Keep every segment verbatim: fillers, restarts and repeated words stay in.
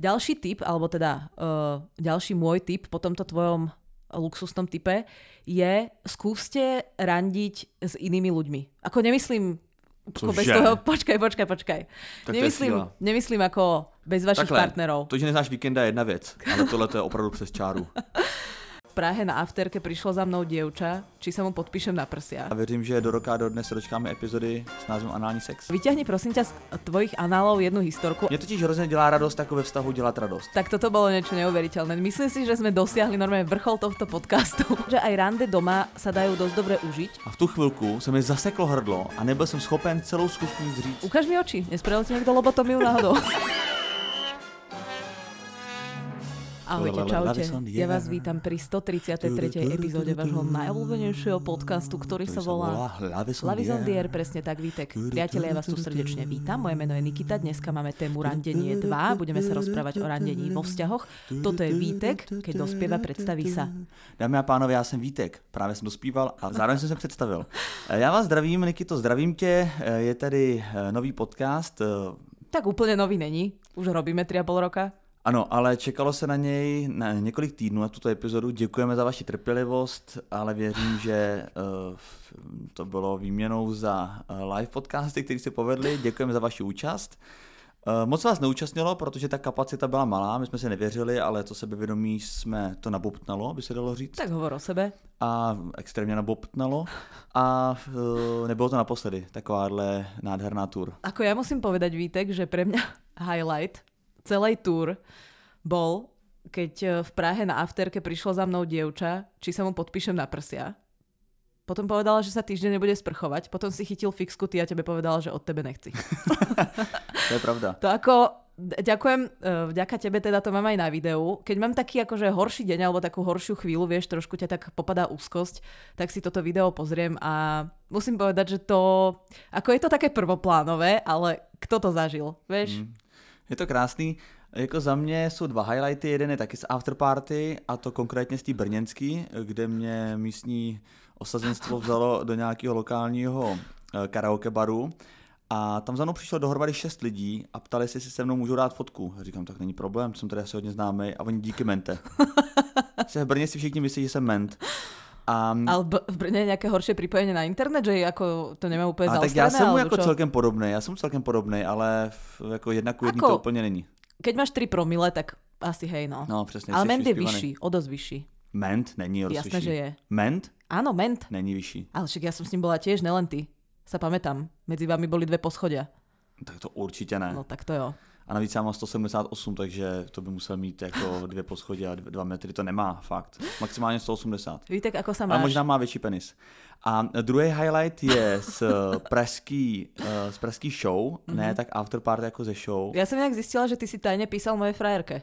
Ďalší tip, alebo teda uh, ďalší môj tip po tomto tvojom luxusnom type je skúste randiť s inými ľuďmi. Ako nemyslím ako bez toho, počkaj, počkaj, počkaj. Nemyslím, nemyslím ako bez vašich Takhle, partnerov. To, že neznáš víkenda je jedna věc, ale tohle to je opravdu přes čáru. V Prahe na afterke prišlo za mnou dievča, či sa mu podpíšem na prsia. A věřím, že do roka do dnes se dočkáme epizody s názvem Anální sex. Vyťahni prosím ťa z tvojich análov jednu historku. Mně totiž hrozně dělá radost, ako ve vztahu dělat radost. Tak toto bolo niečo neuveriteľné. Myslím si, že sme dosiahli normálne vrchol tohto podcastu. Že aj rande doma sa dajú dosť dobre užiť. A v tu chvilku se mi zaseklo hrdlo a nebyl jsem schopen celou skutku nic říct. Ukáž mi oči, nespravil ti niekto lobotomiu náhodou. Ahojte, čaute. Ja vás vítam pri stotridsiatej tretej epizóde vášho najobľúbenejšieho podcastu, ktorý sa volá Lavisondier, presne tak, Vítek. Priatelia, ja vás tu srdečne vítam. Moje meno je Nikita, dneska máme tému randenie dva. Budeme sa rozprávať o randení vo vzťahoch. Toto je Vítek, keď dospieva, predstaví sa. Dámy a pánové, já jsem Vítek, právě jsem dospíval a zároveň jsem se představil. Já vás zdravím, Nikito, zdravím tě. Je tady nový podcast. Tak úplne nový není, už robíme tri a pol roka. Ano, ale čekalo se na něj na několik týdnů na tuto epizodu. Děkujeme za vaši trpělivost, ale věřím, že uh, to bylo výměnou za uh, live podcasty, které se povedly. Děkujeme za vaši účast. Uh, moc vás neúčastnilo, protože ta kapacita byla malá, my jsme se nevěřili, ale to sebevědomí jsme to nabobtnalo, by se dalo říct. Tak hovor o sebe. A extrémně nabobtnalo. A uh, nebylo to naposledy, takováhle nádherná tour. Ako ja musím povedať, Vítek, že pre mňa highlight celej tour bol, keď v Prahe na afterke prišlo za mnou dievča, či sa mu podpíšem na prsia. Potom povedala, že sa týždeň nebude sprchovať. Potom si chytil fixku, ty a tebe povedala, že od tebe nechci. To je pravda. To ako, ďakujem, vďaka tebe teda to mám aj na videu. Keď mám taký akože horší deň alebo takú horšiu chvíľu, vieš, trošku ťa tak popadá úzkosť, tak si toto video pozriem a musím povedať, že to, ako je to také prvoplánové, ale kto to zažil, vieš? Mm. Je to krásný. Jako za mě jsou dva highlighty. Jeden je taky z afterparty, a to konkrétně z té brněnský, kde mě místní osazenstvo vzalo do nějakého lokálního karaoke baru. A tam za mnou přišlo dohromady šest lidí a ptali se, jestli se mnou můžou dát fotku. A říkám, tak není problém, jsem tady asi hodně známý. A oni díky mente. V Brně si všichni myslí, že jsem ment. A... Ale v Brně je nějaké horší připojení na internet, že jako to nemám úplně zaostrené? Tak já jsem mu jako čo? celkem podobný, já jsem celkem podobný, ale jako jedna ku jedný to úplně není. Keď máš tři promile, tak asi hej, no. No, přesně. Ale ment je vyšší, o dosť vyšší. Ment není o dosť vyšší. Jasné, že je. Ment? Áno, ment. Není vyšší. Ale však ja som s ním bola tiež, nelen ty. Sa pamätám. Medzi vami boli dve poschodia. Tak to určitě ne. No tak to jo. A navíc já mám sto sedmdesát osm, takže to by musel mít jako dvě poschodí a dva metry. To nemá, fakt. Maximálně sto osmdesát. Vítek, ako sa máš? Ale možná má větší penis. A druhý highlight je z pražský, z pražský show, mm-hmm. ne tak afterparty jako ze show. Já jsem nějak zjistila, že ty si tajně písal moje frajerke.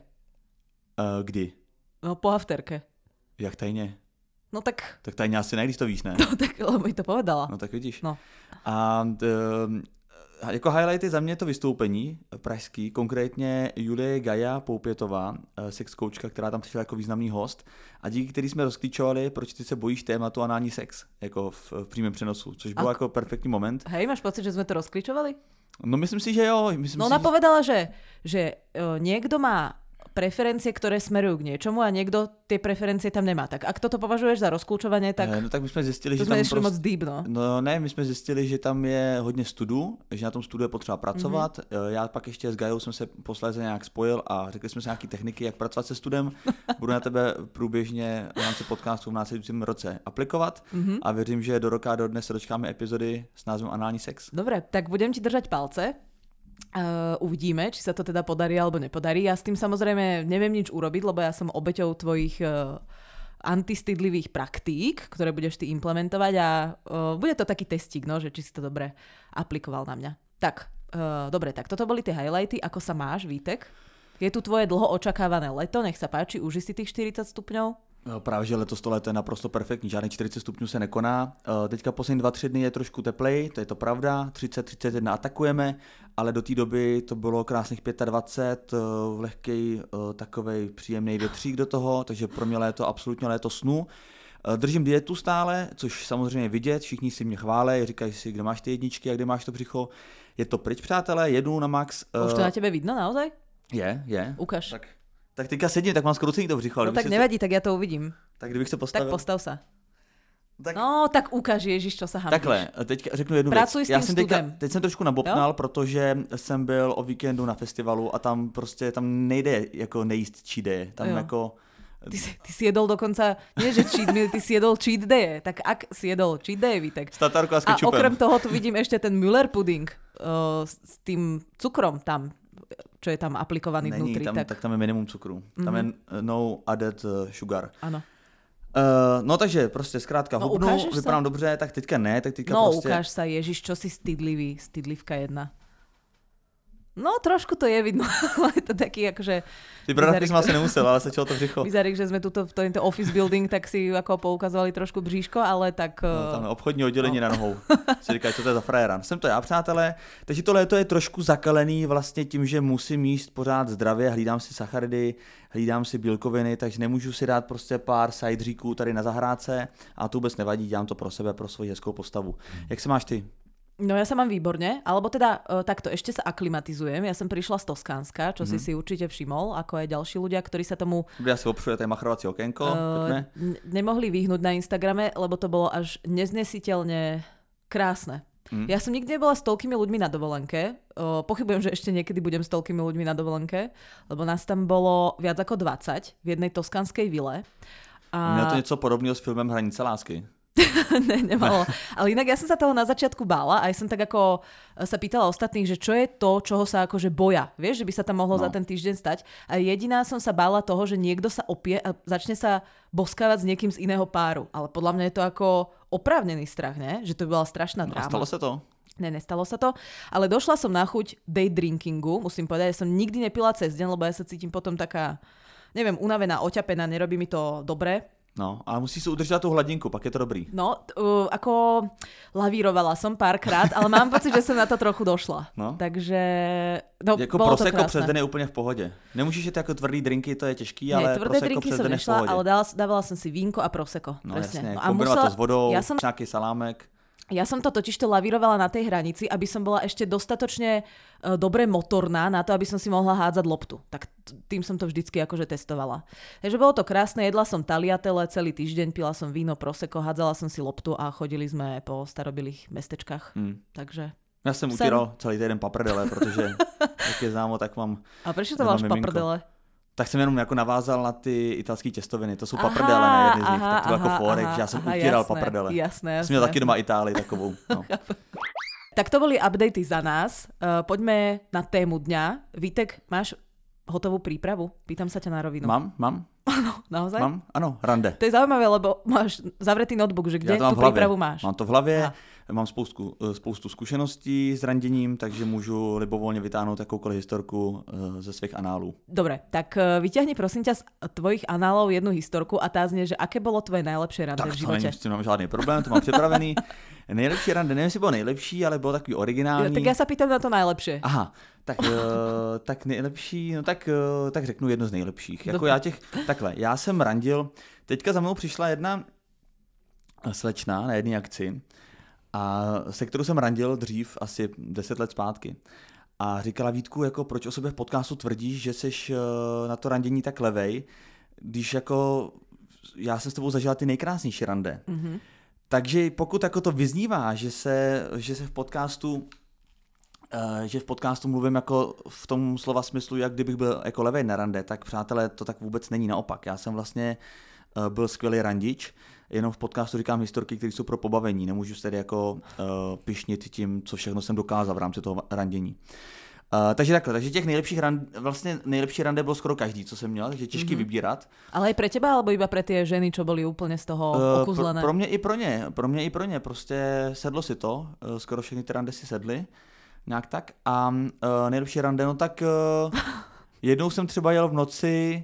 Uh, kdy? No po afterke. Jak tajně? No tak... Tak tajně asi ne, když to víš, ne? No tak, lebo mi to povedala. No tak vidíš. No. A uh, jako highlight je za mě to vystoupení pražský, konkrétně Julie Gaja Poupětová, sex coachka, která tam přišla jako významný host a díky který jsme rozklíčovali, proč ty se bojíš tématu anální sex, jako v, v přímém přenosu, což byl a... jako perfektní moment. Hej, máš pocit, že jsme to rozklíčovali? No myslím si, že jo. Myslím no si, ona že... povedala, že, že uh, niekto má preferencie, ktoré smerujú k niečomu a niekto tie preferencie tam nemá. Tak ak toto považuješ za rozklúčovanie, tak... No tak my jsme zjistili, to že tam prost... moc deep, no. No ne, my jsme zjistili, že tam je hodně studů, že na tom studu je potřeba pracovat. Mm-hmm. Já pak ještě s Gajou jsem se posléze nějak spojil a řekli jsme si nějaké techniky, jak pracovat se studem. Budu na tebe průběžně v rámci podcastu v následujícím roce aplikovat mm-hmm. a věřím, že do roka do dnes se dočkáme epizody s názvem Anální sex. Dobre, tak budem ti držať palce. Uh, uvidíme, či sa to teda podarí alebo nepodarí. Ja s tým samozrejme neviem nič urobiť, lebo ja som obeťou tvojich uh, antistydlivých praktík, ktoré budeš ty implementovať a uh, bude to taký testík, no, že či si to dobre aplikoval na mňa. Tak, uh, dobre, tak toto boli tie highlighty. Ako sa máš, Vítek? Je tu tvoje dlho očakávané leto, nech sa páči, uži si tých štyridsať stupňov. Právě, že letos to léto je naprosto perfektní, žádných čtyřicet stupňů se nekoná. Teďka poslední dva, tři dny je trošku teplej, to je to pravda, třicet třicet jedna atakujeme, ale do té doby to bylo krásných dvacet pět, lehkej takovej příjemný větřík do toho, takže pro mě léto absolutně léto snu. Držím dietu stále, což samozřejmě vidět, všichni si mě chválí, říkají si, kde máš ty jedničky a kde máš to břicho. Je to pryč, přátelé, jedu na max. Už to na tebe vidno naozaj? Je, je. Ukaž. Tak, tak teďka sedím, tak mám skroucený to břicho. No tak nevadí, to... tak ja to uvidím. Tak kdybych se postavil. Tak postav sa. Tak... No, tak ukáž, Ježiš, čo sa hambíš. Takhle, teďka řeknu jednu Pracuj věc. S Já tým jsem teďka, studem. teď jsem trošku nabobtnal, protože jsem byl o víkendu na festivalu a tam prostě, tam nejde jako nejíst cheat day. Tam jo. jako... Ty si, ty si jedol dokonca, nie že cheat meal, ty si jedol cheat day. Tak ak si jedol cheat day, Vítek. S tatárkou a s A kečupem. okrem toho tu vidím ešte ten Müller pudding uh, s tým cukrom tam, čo je tam aplikovaný Není, vnútri. tam, tak... tak tam je minimum cukru. Mm-hmm. Tam je no added sugar. Áno. Uh, no takže prostě zkrátka no, hubnu, vypadám sa? dobře, tak teďka ne, tak teďka no, prostě... No ukáž sa, Ježiš, čo si stydlivý, stydlivka jedna. No, trošku to je vidno, ale je to taký akože... Ty bradavky som asi nemusel, ale stačilo to břicho. Vyzerá, že sme tuto v tento office building, tak si ako poukazovali trošku bříško, ale tak... No, tam je obchodní oddělení no. na nohou. Si říkají, co to je za frajera. Jsem to já, přátelé. Takže to léto je trošku zakalený vlastně tím, že musím jíst pořád zdravě, hlídám si sacharidy, hlídám si bílkoviny, takže nemůžu si dát prostě pár sajdříků tady na zahrádce a to vůbec nevadí, dělám to pro sebe, pro svoji hezkou postavu. Jak se máš ty? No ja sa mám výborne, alebo teda uh, takto, ešte sa aklimatizujem. Ja som prišla z Toskánska, čo mm-hmm. si si určite všimol, ako aj ďalší ľudia, ktorí sa tomu... Ja si opšuje tady machrovací okénko. Uh, n- nemohli vyhnúť na Instagrame, lebo to bolo až neznesiteľne krásne. Mm. Ja som nikdy nebola s toľkými ľuďmi na dovolenke. Uh, pochybujem, že ešte niekedy budem s toľkými ľuďmi na dovolenke, lebo nás tam bolo viac ako dvadsať v jednej toskánskej vile. A... Mělo to něco podobného s filmem Hranice lásky. ne, nemalo. Ale inak ja som sa toho na začiatku bála, aj som tak ako sa pýtala ostatných, že čo je to, čoho sa akože boja. Vieš, že by sa tam mohlo no. za ten týždeň stať. A jediná som sa bála toho, že niekto sa opie a začne sa boskávať s niekým z iného páru. Ale podľa mňa je to ako oprávnený strach, ne? Že to by bola strašná no, dráma. Stalo sa to? Ne, nestalo sa to. Ale došla som na chuť day drinkingu, musím povedať. Ja som nikdy nepila cez deň, lebo ja sa cítim potom taká, neviem, unavená, oťapená, nerobí mi to dobre. No, ale musí si udržať tú hladinku, pak je to dobrý. No, uh, ako lavírovala som párkrát, ale mám pocit, že som na to trochu došla. No. Takže, no, jako bolo to prosecco krásne. přes den je úplne v pohode. Nemůžeš jet jako tvrdý drinky, to je těžký, Nie, ale tvrdé prosecco drinky přes som den je v nešla, pohodě. ale dala, dávala som si vínko a prosecco. No presne. jasne, No, a kombinovat musela, to s vodou, ja som, nejaký salámek. Ja som to totižto lavírovala na tej hranici, aby som bola ešte dostatočne uh, dobre motorná na to, aby som si mohla hádzať loptu. Tak t- tým som to vždycky akože testovala. Takže bolo to krásne, jedla som taliatele celý týždeň, pila som víno, prosecco, hádzala som si loptu a chodili sme po starobilých mestečkách. Hmm. Takže... Ja som utíral celý týden paprdele, protože jak je známo, tak mám... A prečo to máš paprdele? Tak jsem jenom jako navázal na ty italské těstoviny. To jsou aha, paprdele na jedny z nich. Tak to bylo jako fórek, že já jsem aha, utíral jasné, paprdele. Jasné, jasné. Jsem měl taky doma Itálii takovou. No. Tak to boli updaty za nás. Uh, poďme na tému dňa. Vítek, máš hotovú prípravu? Pýtam sa ťa na rovinu. Mám, mám. Áno, naozaj? Mám, ano, rande. To je zaujímavé, lebo máš zavretý notebook, že kde tú prípravu máš? Mám to v hlavě. Aha. Mám spoustu, spoustu zkušeností s randením, takže můžu libovolně vytáhnout jakoukoliv historku ze svých análů. Dobre, tak vyťahni prosím ťa z tvojich análov jednu historku a tá znie, že aké bolo tvoje najlepšie rande tak, v živote? Tak to nemám žádný problém, to mám připravený. Nejlepší rande, nevím, jestli bylo nejlepší, ale bylo takový originální. Tak já se pýtam na to najlepšie. Aha, tak, uh, tak nejlepší, no tak, uh, tak řeknu jedno z nejlepších. Jako já těch, takhle, já jsem randil, teďka za mnou přišla jedna slečna na jedné akci, a se kterou jsem randil dřív asi deset let zpátky. A říkala, Vítku, jako proč o sobě v podcastu tvrdíš, že jsi na to randění tak levej, když jako já jsem s tebou zažila ty nejkrásnější rande. Mm-hmm. Takže pokud jako to vyznívá, že se, že se v podcastu že v podcastu mluvím jako v tom slova smyslu, jak kdybych byl jako levej na rande, tak přátelé, to tak vůbec není, naopak. Já jsem vlastně byl skvělý randič, jenom v podcastu říkám historky, které jsou pro pobavení. Nemůžu se tedy jako uh, pyšnit tím, co všechno jsem dokázal v rámci toho randění. Uh, takže takhle, takže těch nejlepších rande, vlastně nejlepší rande bylo skoro každý, co jsem měl, takže těžký mm-hmm. vybírat. Ale i pre teba, alebo iba pre tie ženy, čo boli úplne z toho uh, okuzlené? Pro, pro mě i pro ně, pro mě i pro ně, prostě sedlo si to, uh, skoro všechny ty rande si sedly, nějak tak. A uh, nejlepší rande, no tak uh, jednou jsem třeba jel v noci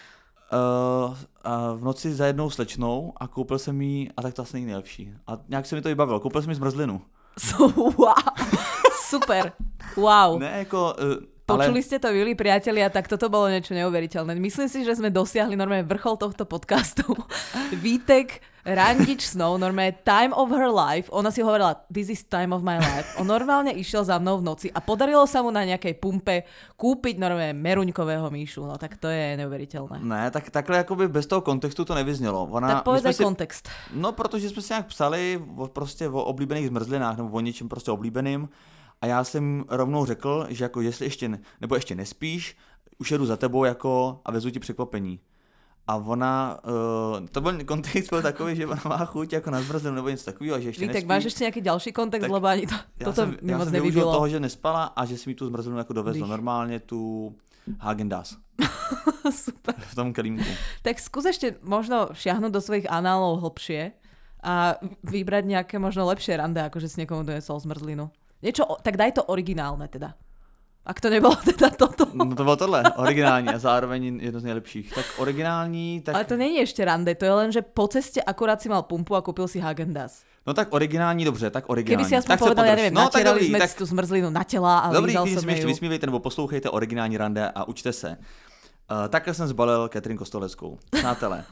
Uh, uh, v noci za jednou slečnou a koupil jsem jí, a tak to asi není nejlepší. A nějak se mi to vybavilo, koupil jsem jí zmrzlinu. So, wow, super, wow. Ne, jako, uh, Počuli ste to, milí priatelia, tak toto bolo niečo neuveriteľné. Myslím si, že sme dosiahli normálne vrchol tohto podcastu. Vítek Randič Snow, normálne time of her life. Ona si hovorila, this is time of my life. On normálne išiel za mnou v noci a podarilo sa mu na nejakej pumpe kúpiť normálne meruňkového míšu. No tak to je neuveriteľné. Ne, tak takhle jakoby bez toho kontextu to nevyznělo. Ona, tak povedz aj si, kontext. No, protože jsme si nějak psali o, prostě o oblíbených zmrzlinách nebo o něčem prostě oblíbeným. A já jsem rovnou řekl, že jako jestli ještě, ne, nebo ještě nespíš, už jedu za tebou jako a vezu ti překvapení. A ona, uh, to byl kontext byl takový, že ona má chuť jako na zmrzlinu nebo něco takového, že ještě Vítek, nespí. máš ještě nějaký další kontext, lebo ani to, toto jsem, mi moc nevybilo. Já jsem využil toho, že nespala a že si mi tu zmrzlinu jako dovezla. Normálně tu Häagen-Dazs. Super. V tom kelímku. Tak skús ešte možno šiahnuť do svojich análov hlbšie a vybrať nejaké možno lepšie rande, ako že si niekomu donesol zmrzlinu. Niečo, tak daj to originálne teda. Ak to nebylo teda toto. No to bylo tohle, originální a zároveň jedno z nejlepších. Tak originální, tak... Ale to není ešte rande, to je len, že po ceste akurát si mal pumpu a kúpil si Häagen-Dazs. No tak originální, dobře, tak originální. Keby si aspoň tak povedal, ja neviem, no, natierali sme tak... si tú zmrzlinu na tela a dobrý, lízal když som jsme ještě ju. vysmívejte nebo poslouchejte originální rande a učte se. Uh, takhle jsem zbalil Katrin Kostoleckou. Přátelé,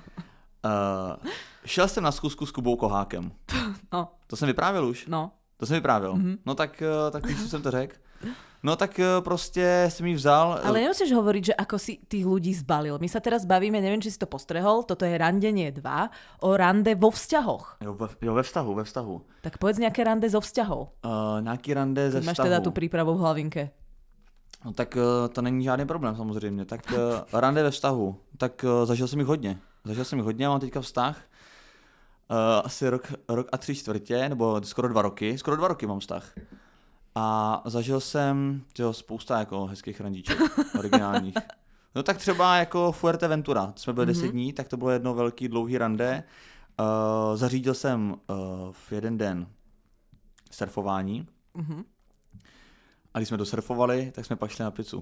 uh, šel jsem na schůzku s Kubou Kohákem. No. To jsem vyprávěl už? No. To jsem vyprávěl. Mm-hmm. No tak, uh, tak když jsem to řekl. No tak uh, prostě jsem jí vzal. Ale nemusíš hovoriť, že ako si tých ľudí zbalil. My sa teraz bavíme, neviem, či si to postrehol, toto je Randenie dva, o rande vo vzťahoch. Jo, ve, jo, ve vztahu, ve vztahu. Tak povedz nejaké rande zo vzťahov. Uh, nějaký rande ze Máš vztahu. teda tu prípravu v hlavinke. No tak uh, to není žádný problém samozřejmě. Tak uh, rande ve vztahu. Tak uh, zažil jsem jich hodně. Zažil jsem jich hodně, mám teďka vztah. Uh, asi rok, rok a tři čtvrtě, nebo skoro dva roky. Skoro dva roky mám vztah. A zažil jsem tyjo, spousta jako hezkých randíček, originálních. No tak třeba jako Fuerteventura, jsme byli mm-hmm. deset dní, tak to bylo jedno velký dlouhý rande. Uh, zařídil jsem uh, v jeden den surfování. Mm-hmm. A když jsme dosurfovali, tak jsme pak šli na pizzu.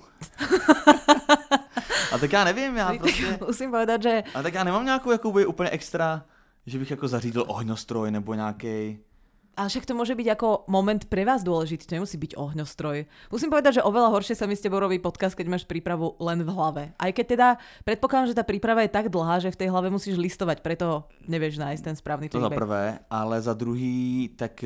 A tak já nevím, já prostě... Musím povedať, že... A tak já nemám nějakou jakoby úplně extra, že bych jako zařídil ohňostroj nebo nějaký. Ale však to môže byť ako moment pre vás dôležitý, to nemusí byť ohňostroj. Musím povedať, že oveľa horšie sa mi s tebou robí podcast, keď máš prípravu len v hlave. Aj keď teda predpokladám, že tá príprava je tak dlhá, že v tej hlave musíš listovať, preto nevieš nájsť ten správny to feedback. To za prvé, ale za druhý, tak...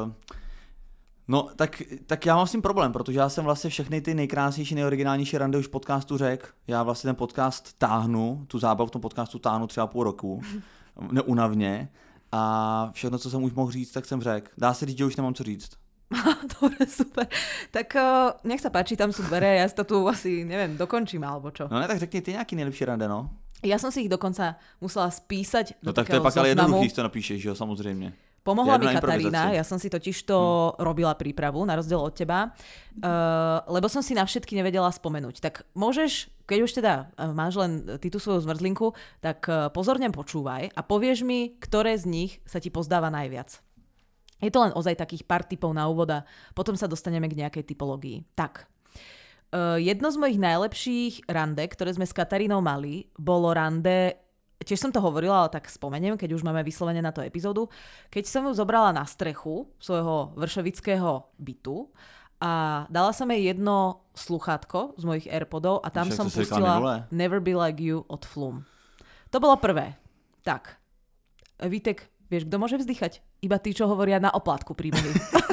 No, tak, tak já mám s tím problém, protože já jsem vlastně všechny ty nejkrásnější, nejoriginálnější rande už v podcastu řekl. Já vlastně ten podcast táhnu, tu zábavu v tom podcastu táhnu třeba půl roku, neunavně. A všechno, co jsem už mohl říct, tak jsem řekl. Dá se říct, že už nemám co říct. Dobre, super. Tak uh, nech sa páči, tam sú dvere, ja si to tu asi, neviem, dokončím, alebo čo. No ne, tak řekni ty nějaký nejlepší rande, no. Ja som si ich dokonca musela spísať do no tak to je pak ale jednoduchý, to napíšeš, že jo, samozřejmě. Pomohla mi Katarína, ja som si totiž to hmm. robila prípravu, na rozdiel od teba, uh, lebo som si na všetky nevedela spomenúť. Tak môžeš, keď už teda uh, máš len ty tú svoju zmrzlinku, tak uh, pozorne počúvaj a povieš mi, ktoré z nich sa ti pozdáva najviac. Je to len ozaj takých pár typov na úvod a potom sa dostaneme k nejakej typológii. Tak, uh, jedno z mojich najlepších rande, ktoré sme s Katarínou mali, bolo rande... Tiež som to hovorila, ale tak spomeniem, keď už máme vyslovene na to epizódu. Keď som ju zobrala na strechu svojho vršovického bytu a dala som jej jedno sluchátko z mojich AirPodov a tam Však som pustila Never Be Like You od Flume. To bolo prvé. Tak, Vítek, vieš, kto môže vzdychať? Iba tí, čo hovoria na oplátku príjmení.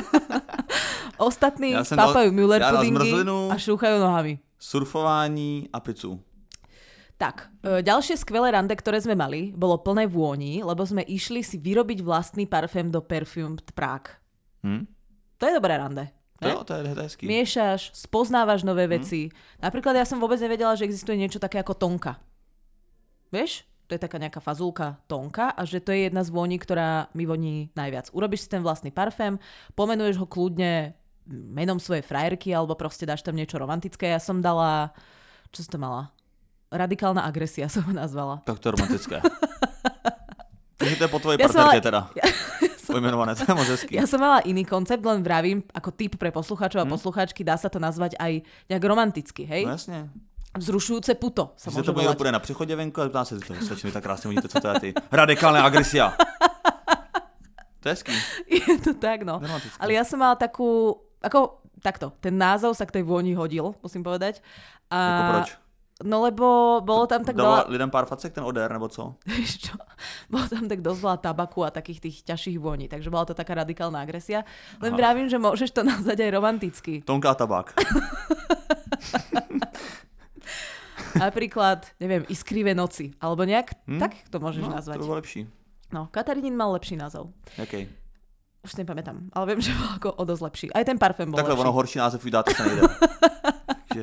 Ostatní ja papajú Müller pudingy a šúchajú nohami. Surfování a pizzu. Tak, e, ďalšie skvelé rande, ktoré sme mali, bolo plné vôni, lebo sme išli si vyrobiť vlastný parfém do Perfumed Prague. Hmm? To je dobré rande. To, to je hezký. Miešaš, spoznávaš nové hmm? veci. Napríklad ja som vôbec nevedela, že existuje niečo také ako tonka. Vieš? To je taká nejaká fazulka tonka a že to je jedna z vôní, ktorá mi voní najviac. Urobíš si ten vlastný parfém, pomenuješ ho kľudne menom svojej frajerky alebo proste dáš tam niečo romantické. Ja som dala... Čo som to mala? Radikálna agresia som ho nazvala. Tak to je romantické. Takže to je po tvojej ja partnerke mala... teda. Ja, ja som... Pojmenované, to je moc hezký. Ja som mala iný koncept, len vravím, ako tip pre poslucháčov a hmm? poslucháčky, dá sa to nazvať aj nejak romanticky, hej? No jasne. Vzrušujúce puto sa môže volať. Když se to bude půjde na přechodě venku a ptá se, to stačí mi tak krásně vidíte, co to je ty. Radikálna agresia. To je hezký. Je to tak, no. Ale ja som mala takú, ako takto, ten názov sa k tej vôni hodil, musím povedať. A... Jako proč? No lebo bolo tam tak Dalo veľa... lidem pár facek ten odér, nebo co? Vieš čo? Bolo tam tak dosť veľa tabaku a takých tých ťažších voní, takže bola to taká radikálna agresia. Len Aha. vravím, že môžeš to nazvať aj romanticky. Tonká tabák. Napríklad, neviem, Iskrivé noci, alebo nejak hm? tak to môžeš No, nazvať. to bolo lepší. No, Katarínin mal lepší názov. Jaký? Už si nepamätám, ale viem, že bol ako o dosť lepší. Aj ten parfém bol Takhle lepší. ono horší název už dáte sa nejde. Takže...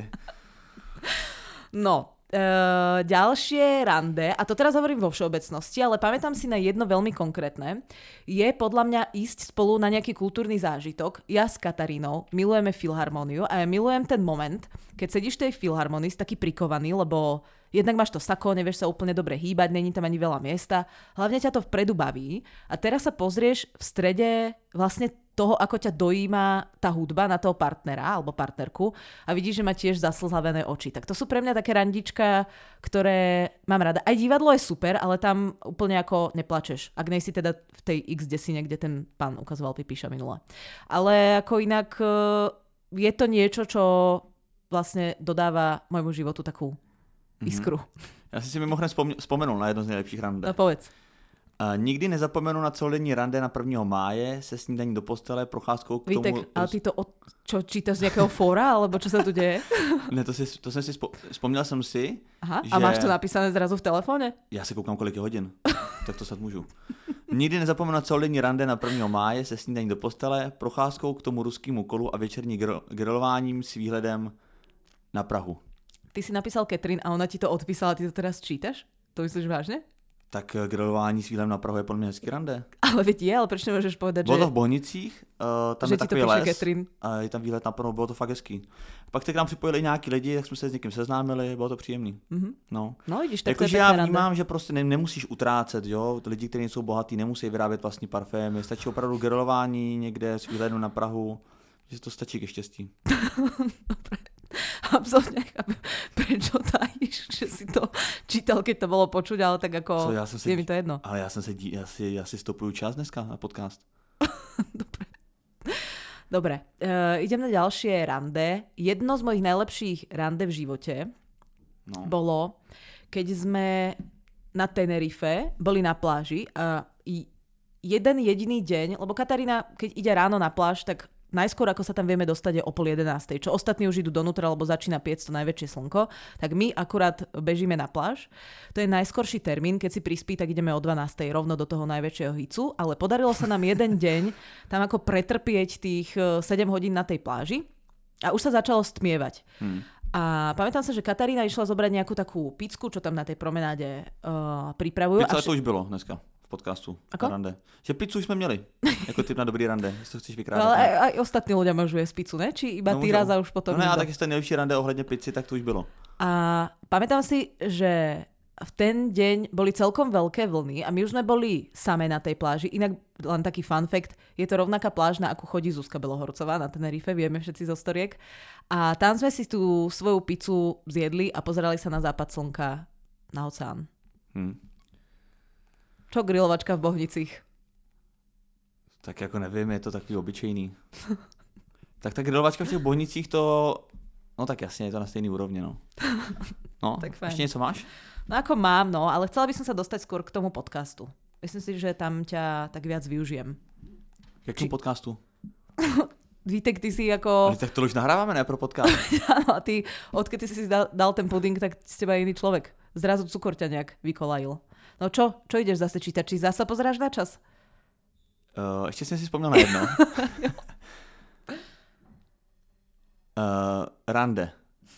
No, e, ďalšie rande, a to teraz hovorím vo všeobecnosti, ale pamätám si na jedno veľmi konkrétne, je podľa mňa ísť spolu na nejaký kultúrny zážitok. Ja s Katarínou milujeme filharmóniu a ja milujem ten moment, keď sedíš v tej filharmonii, taký prikovaný, lebo jednak máš to sako, nevieš sa úplne dobre hýbať, není tam ani veľa miesta, hlavne ťa to vpredu baví a teraz sa pozrieš v strede vlastne toho, ako ťa dojíma tá hudba na toho partnera alebo partnerku a vidíš, že má tiež zaslzavené oči. Tak to sú pre mňa také randička, ktoré mám rada. Aj divadlo je super, ale tam úplne ako neplačeš. Ak nejsi teda v tej X desine, kde ten pán ukazoval Pipíša minule. Ale ako inak je to niečo, čo vlastne dodáva môjmu životu takú iskru. Mm-hmm. Já jsem si mimochodem vzpomněl, vzpomenul na jedno z nejlepších rande. No povedz. Uh, nikdy nezapomenu na celodenní rande na prvního máje se snídaní do postele, procházkou k Vítek, tomu... ale ty to od... čo, čítaš z nejakého fóra, alebo čo sa tu deje? Ne, to, si, to jsem si spo... vzpomněl jsem si, Aha, že... a máš to napísané zrazu v telefóne? Já se koukám, kolik je hodin, tak to snad můžu. Nikdy nezapomenu na celodenní rande na prvního máje se snídaní do postele, procházkou k tomu ruskému kolu a večerní gr- grilováním s výhledem na Prahu. Ty si napísal Katrin a ona ti to odpísala, ty to teraz čítaš? To myslíš vážne? Tak grilování s výhledem na Prahu je podle mě hezký rande. Ale veď je, ale proč nemôžeš povedať, Bylo že... to v Bohnicích, uh, tam že je ti to takový píše les Katrin. a je tam výhled na Prahu, bylo to fakt hezký. Pak se k nám připojili nějaký lidi, tak jsme se s někým seznámili, bylo to příjemný. Mm-hmm. No, no vidíš, tak jakože to je já pekné vnímám, rande. že prostě ne, nemusíš utrácet, jo, lidi, kteří jsou bohatí, nemusí vyrábět vlastní parfémy, stačí opravdu grilování někde s výhledem na Prahu, že to stačí ke štěstí. Dobre. Absolutne nechápem, prečo tajíš, že si to čítal, keď to bolo počuť, ale tak ako Co, já jsem si, je mi to jedno. Ale já jsem se, dí, já si, já si stopuju čas dneska na podcast. Dobre. Dobre, uh, idem na ďalšie rande. Jedno z mojich najlepších rande v živote No. bolo, keď sme na Tenerife boli na pláži a jeden jediný deň, lebo Katarína, keď ide ráno na pláž, tak najskôr, ako sa tam vieme dostať, je o pol jedenástej, čo ostatní už idú donútra, lebo začína piec to najväčšie slnko, tak my akurát bežíme na pláž. To je najskorší termín, keď si prispí, tak ideme o dvanástej rovno do toho najväčšieho hicu, ale podarilo sa nám jeden deň tam ako pretrpieť tých sedem hodín na tej pláži a už sa začalo stmievať. Hmm. A pamätám sa, že Katarína išla zobrať nejakú takú picku, čo tam na tej promenáde uh, pripravujú. Pizza vš- to už bylo dneska v podcastu. Ako? Rande. Že pizzu už jsme měli. Jako typ na dobrý rande, jestli to chceš vykrádat. No, ale aj, aj ostatní ľudia môžu jesť pizzu, ne? Či iba No, ty můžou. raz a už potom... No ne, a nikto? tak jestli nejlepší rande ohledně pizzy, tak to už bylo. A pamätám si, že v ten deň boli celkom veľké vlny a my už sme boli same na tej pláži. Inak len taký fun fact, je to rovnaká pláž, na akú chodí Zuzka Belohorcová na Tenerife, vieme všetci zo storiek. A tam sme si tú svoju pizzu zjedli a pozerali sa na západ slnka na oceán. Hmm. Čo grilovačka v Bohnicích? Tak jako nevím, je to takový obyčejný. Tak ta grilovačka v těch Bohnicích to... No tak jasně, je to na stejný úrovni, no. No, Tak fajn. ještě něco máš? No ako mám, no, ale chcela by som sa dostať skôr k tomu podcastu. Myslím si, že tam ťa tak viac využijem. K jakému Či- podcastu? Vítek, ty si ako... Ale tak to už nahráváme, ne, pro podcast. Áno, a ty, odkedy si si dal, dal ten puding, tak z teba je iný človek. Zrazu cukor ťa nejak vykolajil. No čo? Čo ideš zase čítať? Či zase pozeráš na čas? Uh, ještě jsem si vzpomněl na jedno. uh, rande.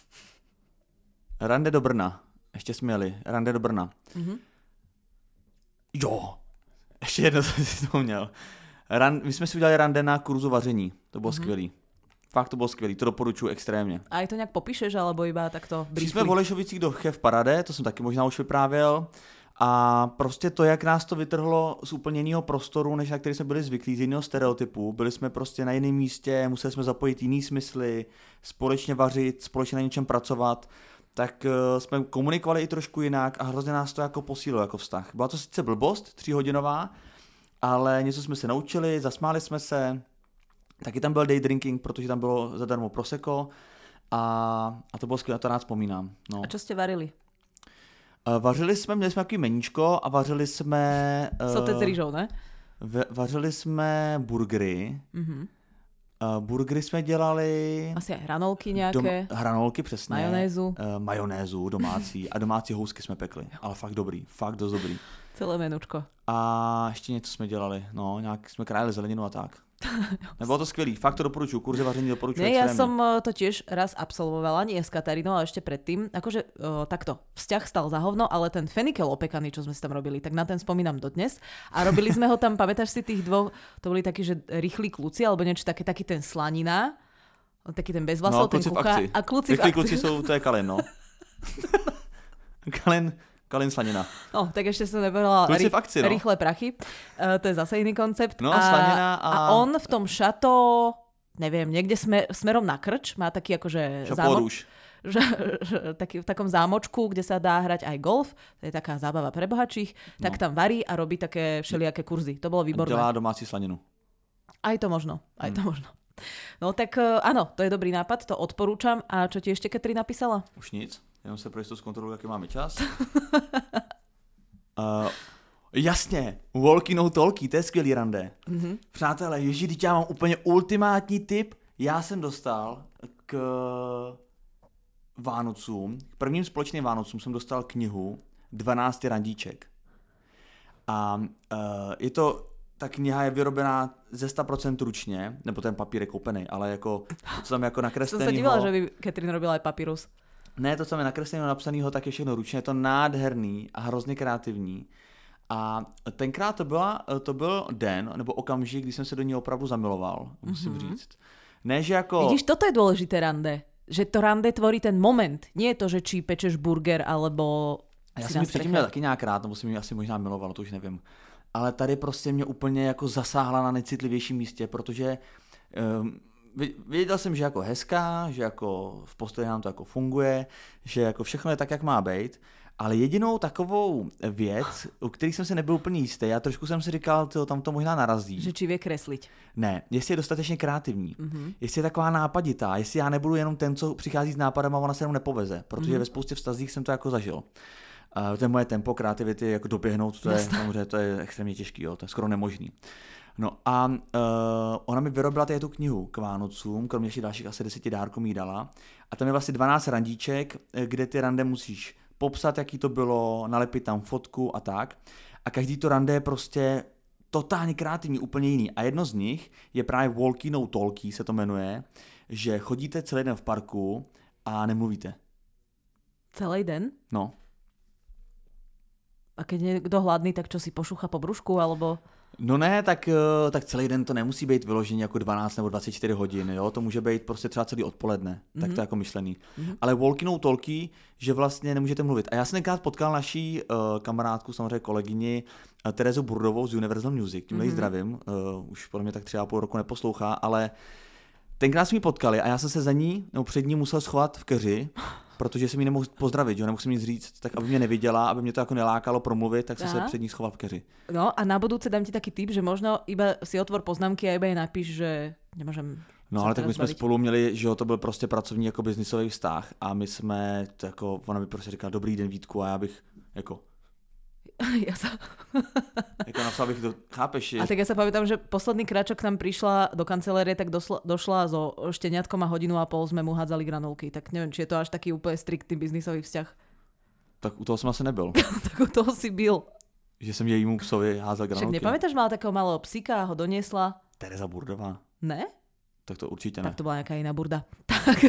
Rande do Brna. Ještě jsme jeli. Rande do Brna. Mm-hmm. Jo. Ještě jedno jsem si vzpomněl. Ran, my jsme si udělali rande na kurzu vaření. To bylo mm-hmm. skvělý. Fakt to bylo skvělý. To doporučuji extrémně. A aj to nejak popíšeš, alebo iba takto Šli jsme v briefly? Holešovicích do Chef Parade, to jsem taky možná už vyprávěl. A prostě to, jak nás to vytrhlo z úplně jiného prostoru, než na který jsme byli zvyklí, z jiného stereotypu. Byli jsme prostě na jiném místě, museli jsme zapojit jiný smysly, společně vařit, společně na něčem pracovat. Tak uh, jsme komunikovali i trošku jinak a hrozně nás to jako posílilo jako vztah. Byla to sice blbost, tříhodinová, ale něco jsme se naučili, zasmáli jsme se Taky tam byl day drinking, protože tam bylo zadarmo prosecco a, a to bylo skvělé, to rád vzpomínám. No. A čo ste varili? Uh, vařili jsme, měli jsme takový meníčko a vařili jsme... Uh, Sotec s rýžou, ne? V, vařili jsme burgery. Mhm. Uh, burgery jsme dělali... Asi aj hranolky nějaké. Dom, hranolky, přesně. Majonézu. Uh, majonézu domácí. A domácí housky jsme pekli. Ale fakt dobrý. Fakt dost dobrý. Celé menučko. A ještě něco jsme dělali. No, nějak jsme krájeli zeleninu a tak. Nebylo to skvělý. Fakt to doporučuji. Kurzy vaření doporučuji. Nie, ja som to tiež raz absolvovala, nie s Katarínou, ale ešte predtým. Akože o, takto, vzťah stal za hovno, ale ten fenikel opekaný, čo sme si tam robili, tak na ten spomínam dodnes. A robili sme ho tam, pamätáš si tých dvoch, to boli takí, že rýchli kluci, alebo niečo také, taký ten slanina, taký ten bez vlasov, no, ten kuchár. A kluci v akcii. Kluci sú, to je Kalin, no. Kalin, Kalin slanina. No, tak ešte som nepovedala rí, akcii, no. Rýchle prachy. Uh, to je zase iný koncept. No, a, slanina a... a on v tom šato, neviem, niekde smer, smerom na krč, má taký akože zámok, že, že, taký, v takom zámočku, kde sa dá hrať aj golf, to je taká zábava pre bohačích, tak no. tam varí a robí také všelijaké kurzy. To bolo výborné. Dělá domácí slaninu. Aj to možno, aj hmm. to možno. No tak áno, to je dobrý nápad, to odporúčam. A čo ti ešte Katri napísala? Už nic, jenom se pro jistotu zkontroluji, jaký máme čas. uh, jasně, walkie no talkie, to je skvělý rande. Mm-hmm. Přátelé, ježi, teď já mám úplně ultimátní tip. Já jsem dostal k Vánocům, k prvním společným Vánocům jsem dostal knihu dvanáct randíček. A uh, je to... Ta kniha je vyrobená ze sto procent ručně, nebo ten papír je koupený, ale jako to, co tam jako nakreslenýho... Jsem se dívala, že by Katrin robila aj papírus. Ne, to, co tam je nakreslenýho, napsanýho, tak je všechno ručně, je to nádherný a hrozně kreativní. A tenkrát to, byla, to byl den, nebo okamžik, kdy jsem se do ní opravdu zamiloval, musím mm-hmm. říct. Ne, že jako... Vidíš, toto je dôležité rande. Že to rande tvorí ten moment. Nie je to, že či pečeš burger, alebo... Já jsem ji předtím měl taky nějak rád, nebo jsem ji asi možná miloval, to už nevím. Ale tady prostě mě úplně jako zasáhla na nejcitlivějším místě, protože um, věděl jsem, že jako hezká, že jako v postoji nám to jako funguje, že jako všechno je tak, jak má být, ale jedinou takovou věc, u kterých jsem se nebyl úplně jistý, a trošku jsem si říkal, tyjo, tam to možná narazí. Že či vie kresliť. Ne, jestli je dostatečně kreativní, mm-hmm. jestli je taková nápaditá, jestli já nebudu jenom ten, co přichází s nápadem a ona se jenom nepoveze, protože mm-hmm. ve spoustě vztazích jsem to jako zažil. Uh, to je moje tempo kreativity, jako doběhnout, to je, samozřejmě, to je extrémně těžký, jo, to je skoro nemožný. No a uh, ona mi vyrobila tady tu knihu k Vánocům, kromě ještě dalších asi deseti dárků mi dala. A tam je vlastně dvanáct randíček, kde ty rande musíš popsat, jaký to bylo, nalepit tam fotku a tak. A každý to rande je prostě totálně kreativní, úplně jiný. A jedno z nich je právě walkie no talkie, se to jmenuje, že chodíte celý den v parku a nemluvíte. Celý den? No. A keď je kdo hladný, tak čo si pošucha po brúšku, alebo... No ne, tak, tak celý den to nemusí být vyloženě jako dvanáct nebo dvacet čtyři hodin, jo? To může být prostě třeba celý odpoledne, mm-hmm. tak to je jako myšlený. Mm-hmm. Ale walkie no talkie, že vlastně nemůžete mluvit. A já jsem tenkrát potkal naší uh, kamarádku, samozřejmě kolegyni uh, Terezu Burdovou z Universal Music, tímhle mm-hmm. zdravím, uh, už podle mě tak třeba půl roku neposlouchá, ale tenkrát jsme ji potkali a já jsem se za ní, nebo před ní musel schovat v keři, protože jsem ji nemohl pozdravit, že nemusím nic říct, tak aby mě neviděla, aby mě to jako nelákalo promluvit, tak jsem Aha. se před ní schoval v keři. No a na budúce dám ti taký tip, že možno iba si otvor poznámky a iba jej napíš, že nemôžem. No ale tak my jsme spolu měli, že jo, to byl prostě pracovní jako biznisový vztah a my jsme, jako, ona mi prostě říkala dobrý den Vítku a já bych jako ja sa... jako napsal bych to, chápeš? A tak ja sa pamätám, že posledný krát, čo k nám prišla do kancelárie, tak došla, došla so šteniatkom a hodinu a pol sme mu hádzali granulky. Tak neviem, či je to až taký úplne striktný biznisový vzťah. Tak u toho som asi nebyl. Tak u toho si byl. Že som jejímu psovi hádzal granulky. Však nepamätáš, mala takého malého psíka a ho doniesla? Tereza Burdová. Ne? Tak to určite ne. Tak to bola nejaká iná burda. Tak...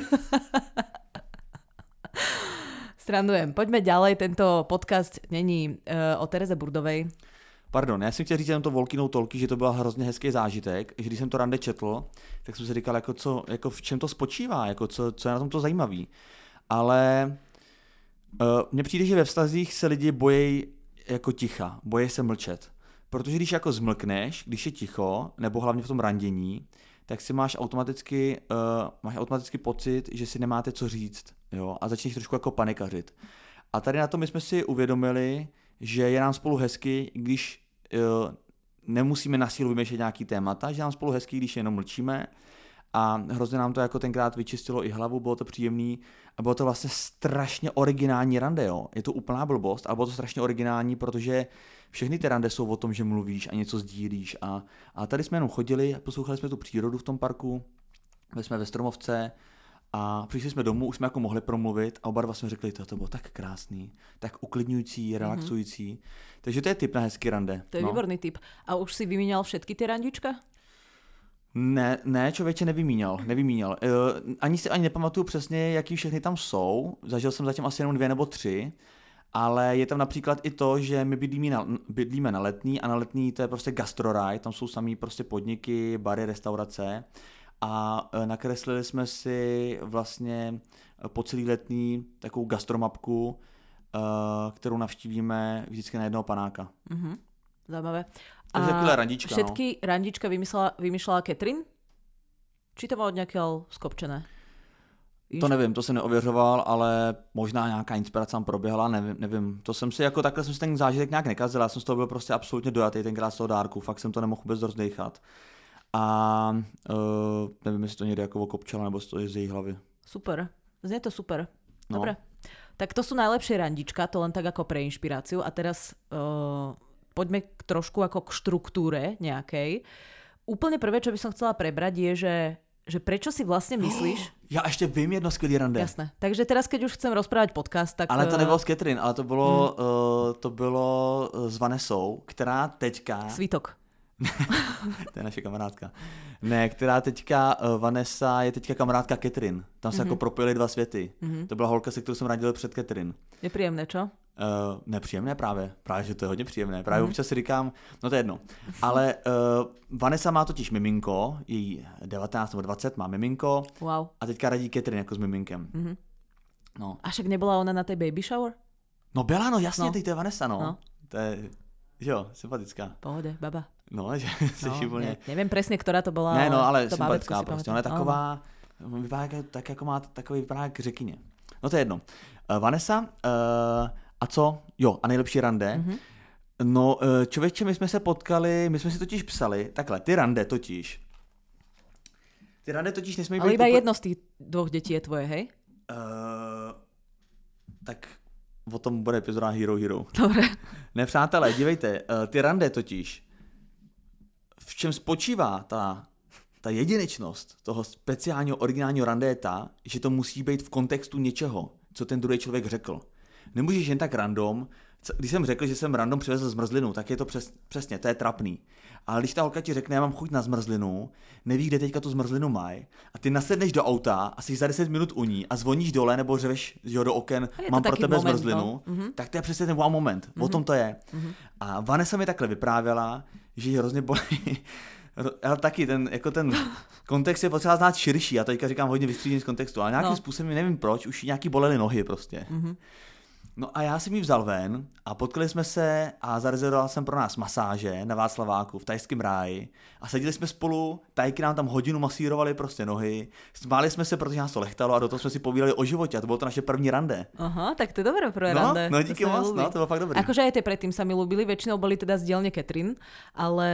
Strandujem. Poďme ďalej, tento podcast není uh, o Tereze Burdovej. Pardon, já jsem chtěl říct jenom to walkie no talkie, že to byl hrozně hezký zážitek, že když jsem to rande četl, tak jsem si říkal, jako, co, jako v čem to spočívá, jako co, co je na tom to zajímavý. Ale uh, mně přijde, že ve vztazích se lidi bojí jako ticha, bojí se mlčet. Protože když jako zmlkneš, když je ticho, nebo hlavně v tom randění, tak si máš automaticky, uh, máš automaticky pocit, že si nemáte co říct, jo, a začneš trošku jako panikařit. A tady na to my jsme si uvědomili, že je nám spolu hezky, když uh, nemusíme na sílu vymýšlet nějaký témata, že nám spolu hezký, když jenom mlčíme. A hrozně nám to jako tenkrát vyčistilo i hlavu, bylo to příjemný a bylo to vlastně strašně originální rande, jo. Je to úplná blbost, ale bylo to strašně originální, protože všechny ty rande jsou o tom, že mluvíš a něco sdílíš. A, a tady jsme jenom chodili, poslouchali jsme tu přírodu v tom parku, byli jsme ve Stromovce a přišli jsme domů, už jsme jako mohli promluvit a oba dva jsme řekli, to, to bylo tak krásný, tak uklidňující, relaxující. Mm-hmm. Takže to je tip na hezký rande. To je no. Výborný tip. A už si vyměňal všetky ty randička? Ne, ne, člověče nevymíňal, nevymíňal. Uh, ani si ani nepamatuju přesně, jaký všechny tam jsou. Zažil jsem zatím asi jenom dvě nebo tři, ale je tam například i to, že my bydlíme na, bydlíme na Letný a na Letný to je prostě gastroraj, tam jsou samý prostě podniky, bary, restaurace a uh, nakreslili jsme si vlastně po celý Letný takovou gastromapku, uh, kterou navštívíme vždycky na jednoho panáka. Mhm, zajímavé. To je taková randička, všetky no. randička vymyslela, vymýšlela Catherine? Či to bylo nějakého skopčené? Víš? To nevím, to jsem neověřoval, ale možná nějaká inspirace tam proběhla, nevím, nevím. To jsem si jako takhle jsem si ten zážitek nějak nekazil, já jsem z toho byl prostě absolutně dojatý tenkrát z toho dárku, fakt jsem to nemohl vůbec rozdejchat. A uh, nevím, jestli to někde jako okopčala, nebo to je z její hlavy. Super, znie to super. No. Dobre. Tak to sú najlepšie randička, to len tak ako pre inšpiráciu. A teraz uh, poďme k trošku ako k štruktúre nejakej. Úplne prvé, čo by som chcela prebrať, je, že, že prečo si vlastne myslíš... Oh, ja ešte vím jedno skvělý rande. Jasné. Takže teraz, keď už chcem rozprávať podcast, tak... Ale to nebylo s Catherine, ale to bylo, hmm. uh, to bylo s Vanessou, která teďka... Svítok. To je naše kamarádka. Ne, která teďka, uh, Vanessa je teďka kamarádka Catherine. Tam se mm-hmm. jako propojily dva světy. Mm-hmm. To byla holka, se kterou jsem radil před Catherine. Je příjemné, čo? Uh, nepříjemné právě. Právě, že to je hodně příjemné. Právě mm-hmm. občas si říkám, no to je jedno. Ale uh, Vanessa má totiž miminko, její devatenáct nebo dvacet má miminko. Wow. A teďka radí Catherine jako s miminkem. Mm-hmm. No. A však nebyla ona na té baby shower? No byla, no jasně, no. teď to je Vanessa, no. no. To je, jo, sympatická. Pohode, baba. No, že jsi no, úplně... Ne, nevím přesně, která to byla. Ne, no, ale to sympatická prostě. Ona je taková, no. vypadá jak, tak jako má takový vypadá jak řekyně. No to je jedno. Uh, Vanessa, uh, a co? Jo, a nejlepší rande. Mm-hmm. No, uh, člověče, my jsme se potkali, my jsme si totiž psali, takhle, ty rande totiž. Ty rande totiž nesmí být... Ale iba upl... jedno z těch dvou dětí je tvoje, hej? Uh, tak o tom bude epizoda Hero Hero. Dobre. Ne, přátelé, dívejte, uh, ty rande totiž, v čem spočívá ta, ta jedinečnost toho speciálního originálního rande je ta, že to musí být v kontextu něčeho, co ten druhý člověk řekl. Nemůžeš jen tak random, když jsem řekl, že jsem random přivezl zmrzlinu, tak je to přes, přesně, to je trapný. Ale když ta holka ti řekne, já mám chuť na zmrzlinu, neví, kde teďka tu zmrzlinu mají, a ty nasedneš do auta a jsi za deset minut u ní a zvoníš dole nebo řveš že do oken, mám pro tebe moment, zmrzlinu, no. Tak to je přesně ten wow moment, mm-hmm. O tom to je. Mm-hmm. A Vanessa mi takhle vyprávěla, že ji hrozně bolí. Ale taky ten, jako ten kontext je potřeba znát širší, já teďka říkám hodně vystřídení z kontextu, ale nějakým no. způsobem, nevím proč, už nějaký bolely nohy prostě. Mm-hmm. No a já jsem ji vzal ven a potkali jsme se a zarezervoval jsem pro nás masáže na Václaváku v tajském ráji a seděli jsme spolu, tajky nám tam hodinu masírovali prostě nohy, smáli jsme se, protože nás to lechtalo a do toho jsme si povídali o životě a to bylo to naše první rande. Aha, tak to je dobré pro no, rande. No díky moc, no, to bylo fakt dobré. Akože aj tie predtým sa mi ľúbili, väčšinou boli teda z dielne Catherine, ale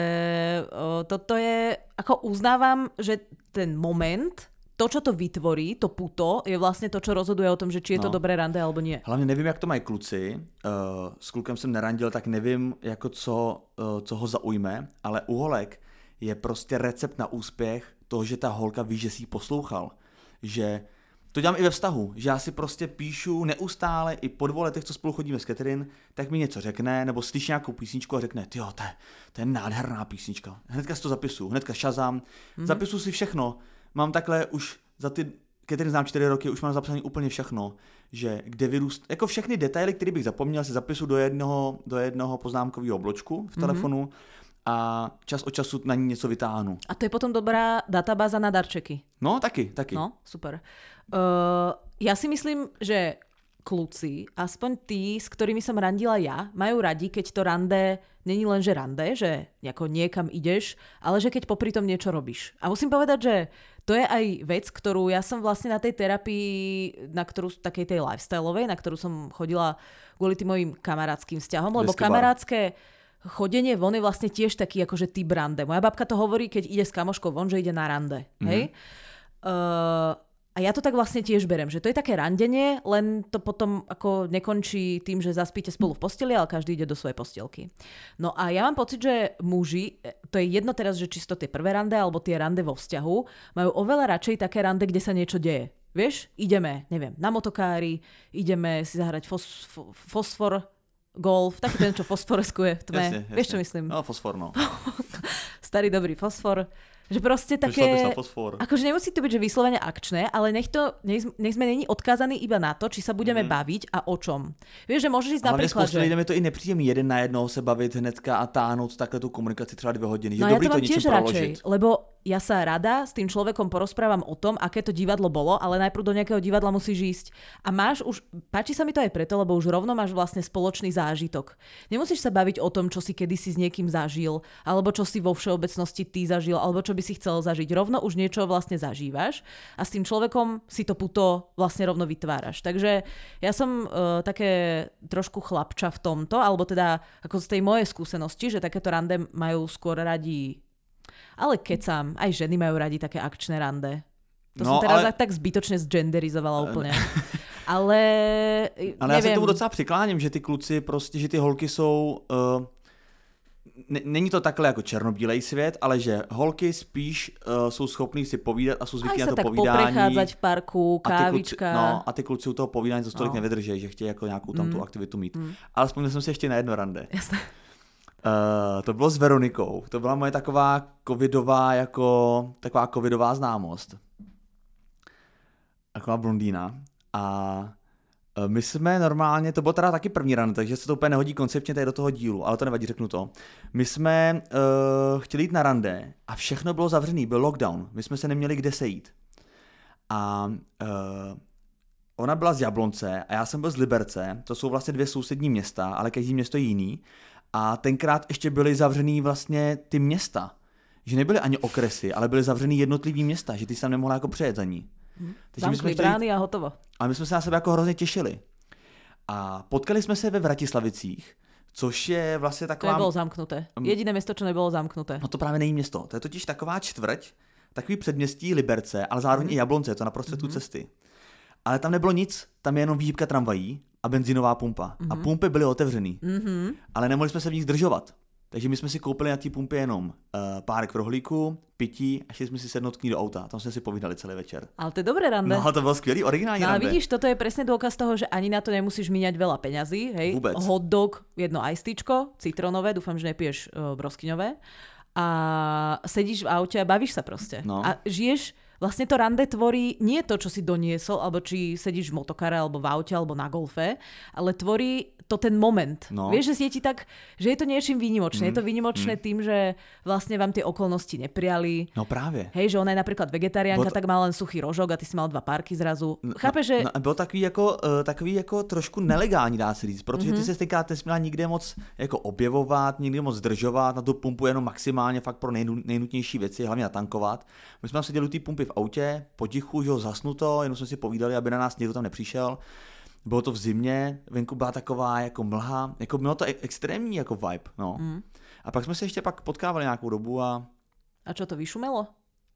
o, toto je, ako uznávam, že ten moment... To, čo to vytvorí, to puto, je vlastně to, čo rozhoduje o tom, že či je to no. dobré rande, alebo nie. Hlavně nevím, jak to mají kluci. Uh, s klukem jsem nerandil, tak nevím, jako co, uh, co ho zaujme, ale u holek je prostě recept na úspěch toho, že ta holka ví, že si ji poslouchal. Že to dělám i ve vztahu, že já si prostě píšu neustále, i po dvou letech, co spolu chodíme s Catherine, tak mi něco řekne, nebo slyší nějakou písničku a řekne, tyjo, to je, to je nádherná písnička. Hnedka si to zapisuju, hnedka šazám, mm-hmm. zapisuju si všechno. Mám takhle už za ty, Catherine znám čtyři roky, už mám zapsané úplně všechno, že kde vyrůst, jako všechny detaily, které bych zapomněl, si zapisuju do jednoho, do jednoho poznámkového bločku v telefonu mm-hmm. a čas od času na ní něco vytáhnu. A to je potom dobrá databáza na darčeky. No, taky, taky. No, super. Uh, ja si myslím, že kluci, aspoň tí, s ktorými som randila ja, majú radi, keď to rande není len, že rande, že ako niekam ideš, ale že keď popri tom niečo robíš. A musím povedať, že to je aj vec, ktorú ja som vlastne na tej terapii, na ktorú, takej tej lifestyleovej, na ktorú som chodila kvôli tým mojim kamarátským vzťahom, lebo kamarátske chodenie von je vlastne tiež taký akože typ rande. Moja babka to hovorí, keď ide s kamoškou von, že ide na rande. Mm-hmm. Hej? Uh, a ja to tak vlastne tiež berem, že to je také randenie, len to potom ako nekončí tým, že zaspíte spolu v posteli, ale každý ide do svojej postielky. No a ja mám pocit, že muži, to je jedno teraz, že čisto tie prvé rande alebo tie rande vo vzťahu, majú oveľa radšej také rande, kde sa niečo deje. Vieš, ideme, neviem, na motokári, ideme si zahrať fos, fosfor, golf, taký ten, čo fosforeskuje v tme. Jasne, jasne. Vieš, čo myslím? No, fosfor, no. Starý dobrý fosfor. Že proste také, akože nemusí to byť, že vyslovene akčné, ale nech, to, nech, nech sme není odkázaní iba na to, či sa budeme mm. baviť a o čom. Vieš, že môžeš ísť napríklad, že... Ale lidem je to i nepříjemný jeden na jednoho se bavit hnedka a táhnout takhle tu komunikaci třeba dvě hodiny. No že ja dobrý to mám to tiež proložiť. radšej, lebo ja sa rada s tým človekom porozprávam o tom, aké to divadlo bolo, ale najprv do nejakého divadla musíš ísť. A máš už, páči sa mi to aj preto, lebo už rovno máš vlastne spoločný zážitok. Nemusíš sa baviť o tom, čo si kedysi s niekým zažil, alebo čo si vo všeobecnosti ty zažil, alebo čo by si chcel zažiť. Rovno už niečo vlastne zažívaš a s tým človekom si to puto vlastne rovno vytváraš. Takže ja som uh, také trošku chlapča v tomto, alebo teda ako z tej mojej skúsenosti, že takéto rande majú skôr radi. Ale kecam, aj ženy majú radi také akčné rande. To no, som teraz ale... tak zbytočne zgenderizovala úplne. ale Ale neviem. Já se tomu docela přikláním, že ty kluci prostě, že ty holky jsou... Uh, n- není to takhle jako černobílej svět, ale že holky spíš uh, jsou schopný si povídat a jsou zvyklí na to tak povídání. Aj sa tak poprechádzať v parku, kávička. A ty kluci, no, a ty kluci u toho povídání to stolik no. nevydrží, že chtějí jako nějakou tam mm. tu aktivitu mít. Mm. Ale vzpomněl jsem si ještě na jedno rande. Jasné. Uh, to bylo s Veronikou. To byla moje taková covidová, jako taková covidová známost. Taková blondýna. A uh, my jsme normálně, to bylo teda taky první rande, takže se to úplně nehodí koncepčně tady do toho dílu, ale to nevadí, řeknu to. My jsme uh, chtěli jít na rande a všechno bylo zavřený, byl lockdown. My jsme se neměli kde sejít. A uh, ona byla z Jablonce a já jsem byl z Liberce. To jsou vlastně dvě sousední města, ale každý město je jiný. A tenkrát ještě byly zavřený vlastně ty města. Že nebyly ani okresy, ale byly zavřený jednotlivý města, že ty jsi tam nemohla jako přejet za ní. Hmm. Zamkli brány a hotovo. A my jsme se na sebe jako hrozně těšili. A potkali jsme se ve Vratislavicích, což je vlastně taková... To nebylo zamknuté. Jediné město, čo nebylo zamknuté. No to právě není město. To je totiž taková čtvrť, takový předměstí Liberce, ale zároveň hmm. i Jablonce, je to na prostředku hmm. cesty. Ale tam nebylo nic, tam je jenom výhybka tramvají a benzinová pumpa. Mm-hmm. A pumpy byly otevřený. Mm-hmm. Ale nemohli jsme se v nich zdržovat. Takže my jsme si koupili na té pumpě jenom uh, párek rohlíku, pití a šli jsme si sednout k ní do auta. Tam jsme si povídali celý večer. Ale to je dobré rande. No, to bylo skvělý, originální no, rande. No vidíš, toto je presne dôkaz toho, že ani na to nemusíš míňať veľa peňazí. Hej? Vůbec. Hot dog, jedno ajstičko, citrónové, dúfam, že nepiješ uh, broskyňové. A sedíš v aute a bavíš sa proste. No. A žiješ... Vlastne to rande tvorí nie to, čo si doniesol, alebo či sedíš v motokare, alebo v aute, alebo na golfe, ale tvorí to ten moment. No. Vieš, že je ti tak, že je to niečím výnimočné. Mm. Je to výnimočné mm. tým, že vlastne vám tie okolnosti neprijali. No práve. Hej, že ona je napríklad vegetariánka, to... tak má len suchý rožok a ty si mal dva párky zrazu. No, Chápeš, že... No, bylo takový jako, uh, takový jako trošku nelegální, dá se říct, protože mm-hmm. ty se tenkrát nesměla nikde moc jako objevovat, nikde moc zdržovat, na tu pumpu jenom maximálně fakt pro nejnu, nejnutnější věci, hlavně natankovat. My jsme tam seděli u té pumpy v autě, potichu, že ho zasnuto, jenom jsme si povídali, aby na nás někdo tam nepřišel. Bylo to v zimě, venku byla taková jako mlha, jako bylo to extrémní jako vibe, no. Mm. A pak jsme se ještě pak potkávali nějakou dobu a... A čo to vyšumelo?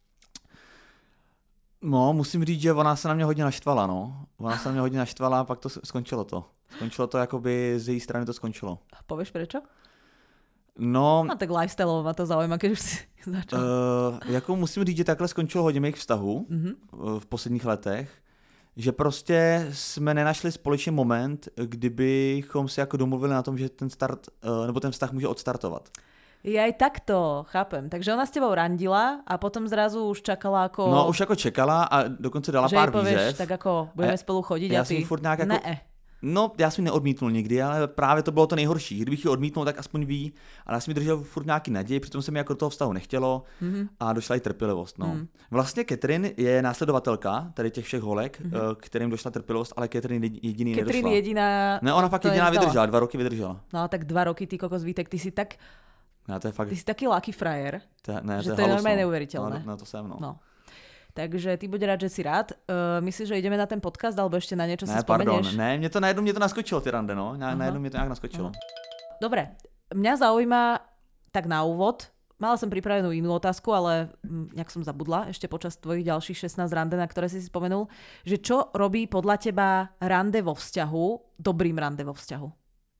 No, musím říct, že ona se na mě hodně naštvala, no. Ona se na mě hodně naštvala a pak to skončilo to. Skončilo to, jakoby z její strany to skončilo. Povieš prečo? No... A tak lifestyle ma to zaujíma, keď už si začal. Uh, jako musím říct, že takhle skončilo hodně mých vztahů mm-hmm. v posledních letech. Že prostě jsme nenašli společný moment, kdybychom si jako domluvili na tom, že ten start, nebo ten vztah může odstartovat. Ja aj takto, chápem. Takže ona s tebou randila a potom zrazu už čakala ako... No už jako čekala a dokonce dala pár výzev. Tak ako budeme a spolu chodiť a, a ty... furt nějak jako... Ne. No, já jsem ji neodmítnul nikdy, ale právě to bylo to nejhorší. Kdybych ji odmítnul, tak aspoň ví. Ale já jsem mi držel furt nějaký naději, přitom se mi jako do toho vztahu nechtělo mm-hmm. a došla i trpělivost. No. Mm. Vlastně Catherine je následovatelka tady těch všech holek, mm-hmm. kterým došla trpělivost, ale Catherine jediný nedošla. Catherine jediná... Ne, ona fakt jediná vydržela, dva roky vydržela. No tak dva roky, ty kokos Vítek, ty si tak... No, to je fakt... Ty si taký lucky frajer, to, ne, že to to je normálne neuveriteľné. No, no to jsem, no. no. Takže ty buď rád, že si rád. Uh, myslíš, že ideme na ten podcast, alebo ešte na niečo ne, si spomenieš? Ne, pardon, ne, mě to najednou mě to naskočilo, ty rande, no. Na, najednou mě to nějak naskočilo. Uh-huh. Dobre, mňa zaujíma tak na úvod, mala som pripravenú inú otázku, ale nejak som zabudla ešte počas tvojich ďalších šestnásť rande, na ktoré si si spomenul, že čo robí podľa teba rande vo vzťahu dobrým rande vo vzťahu?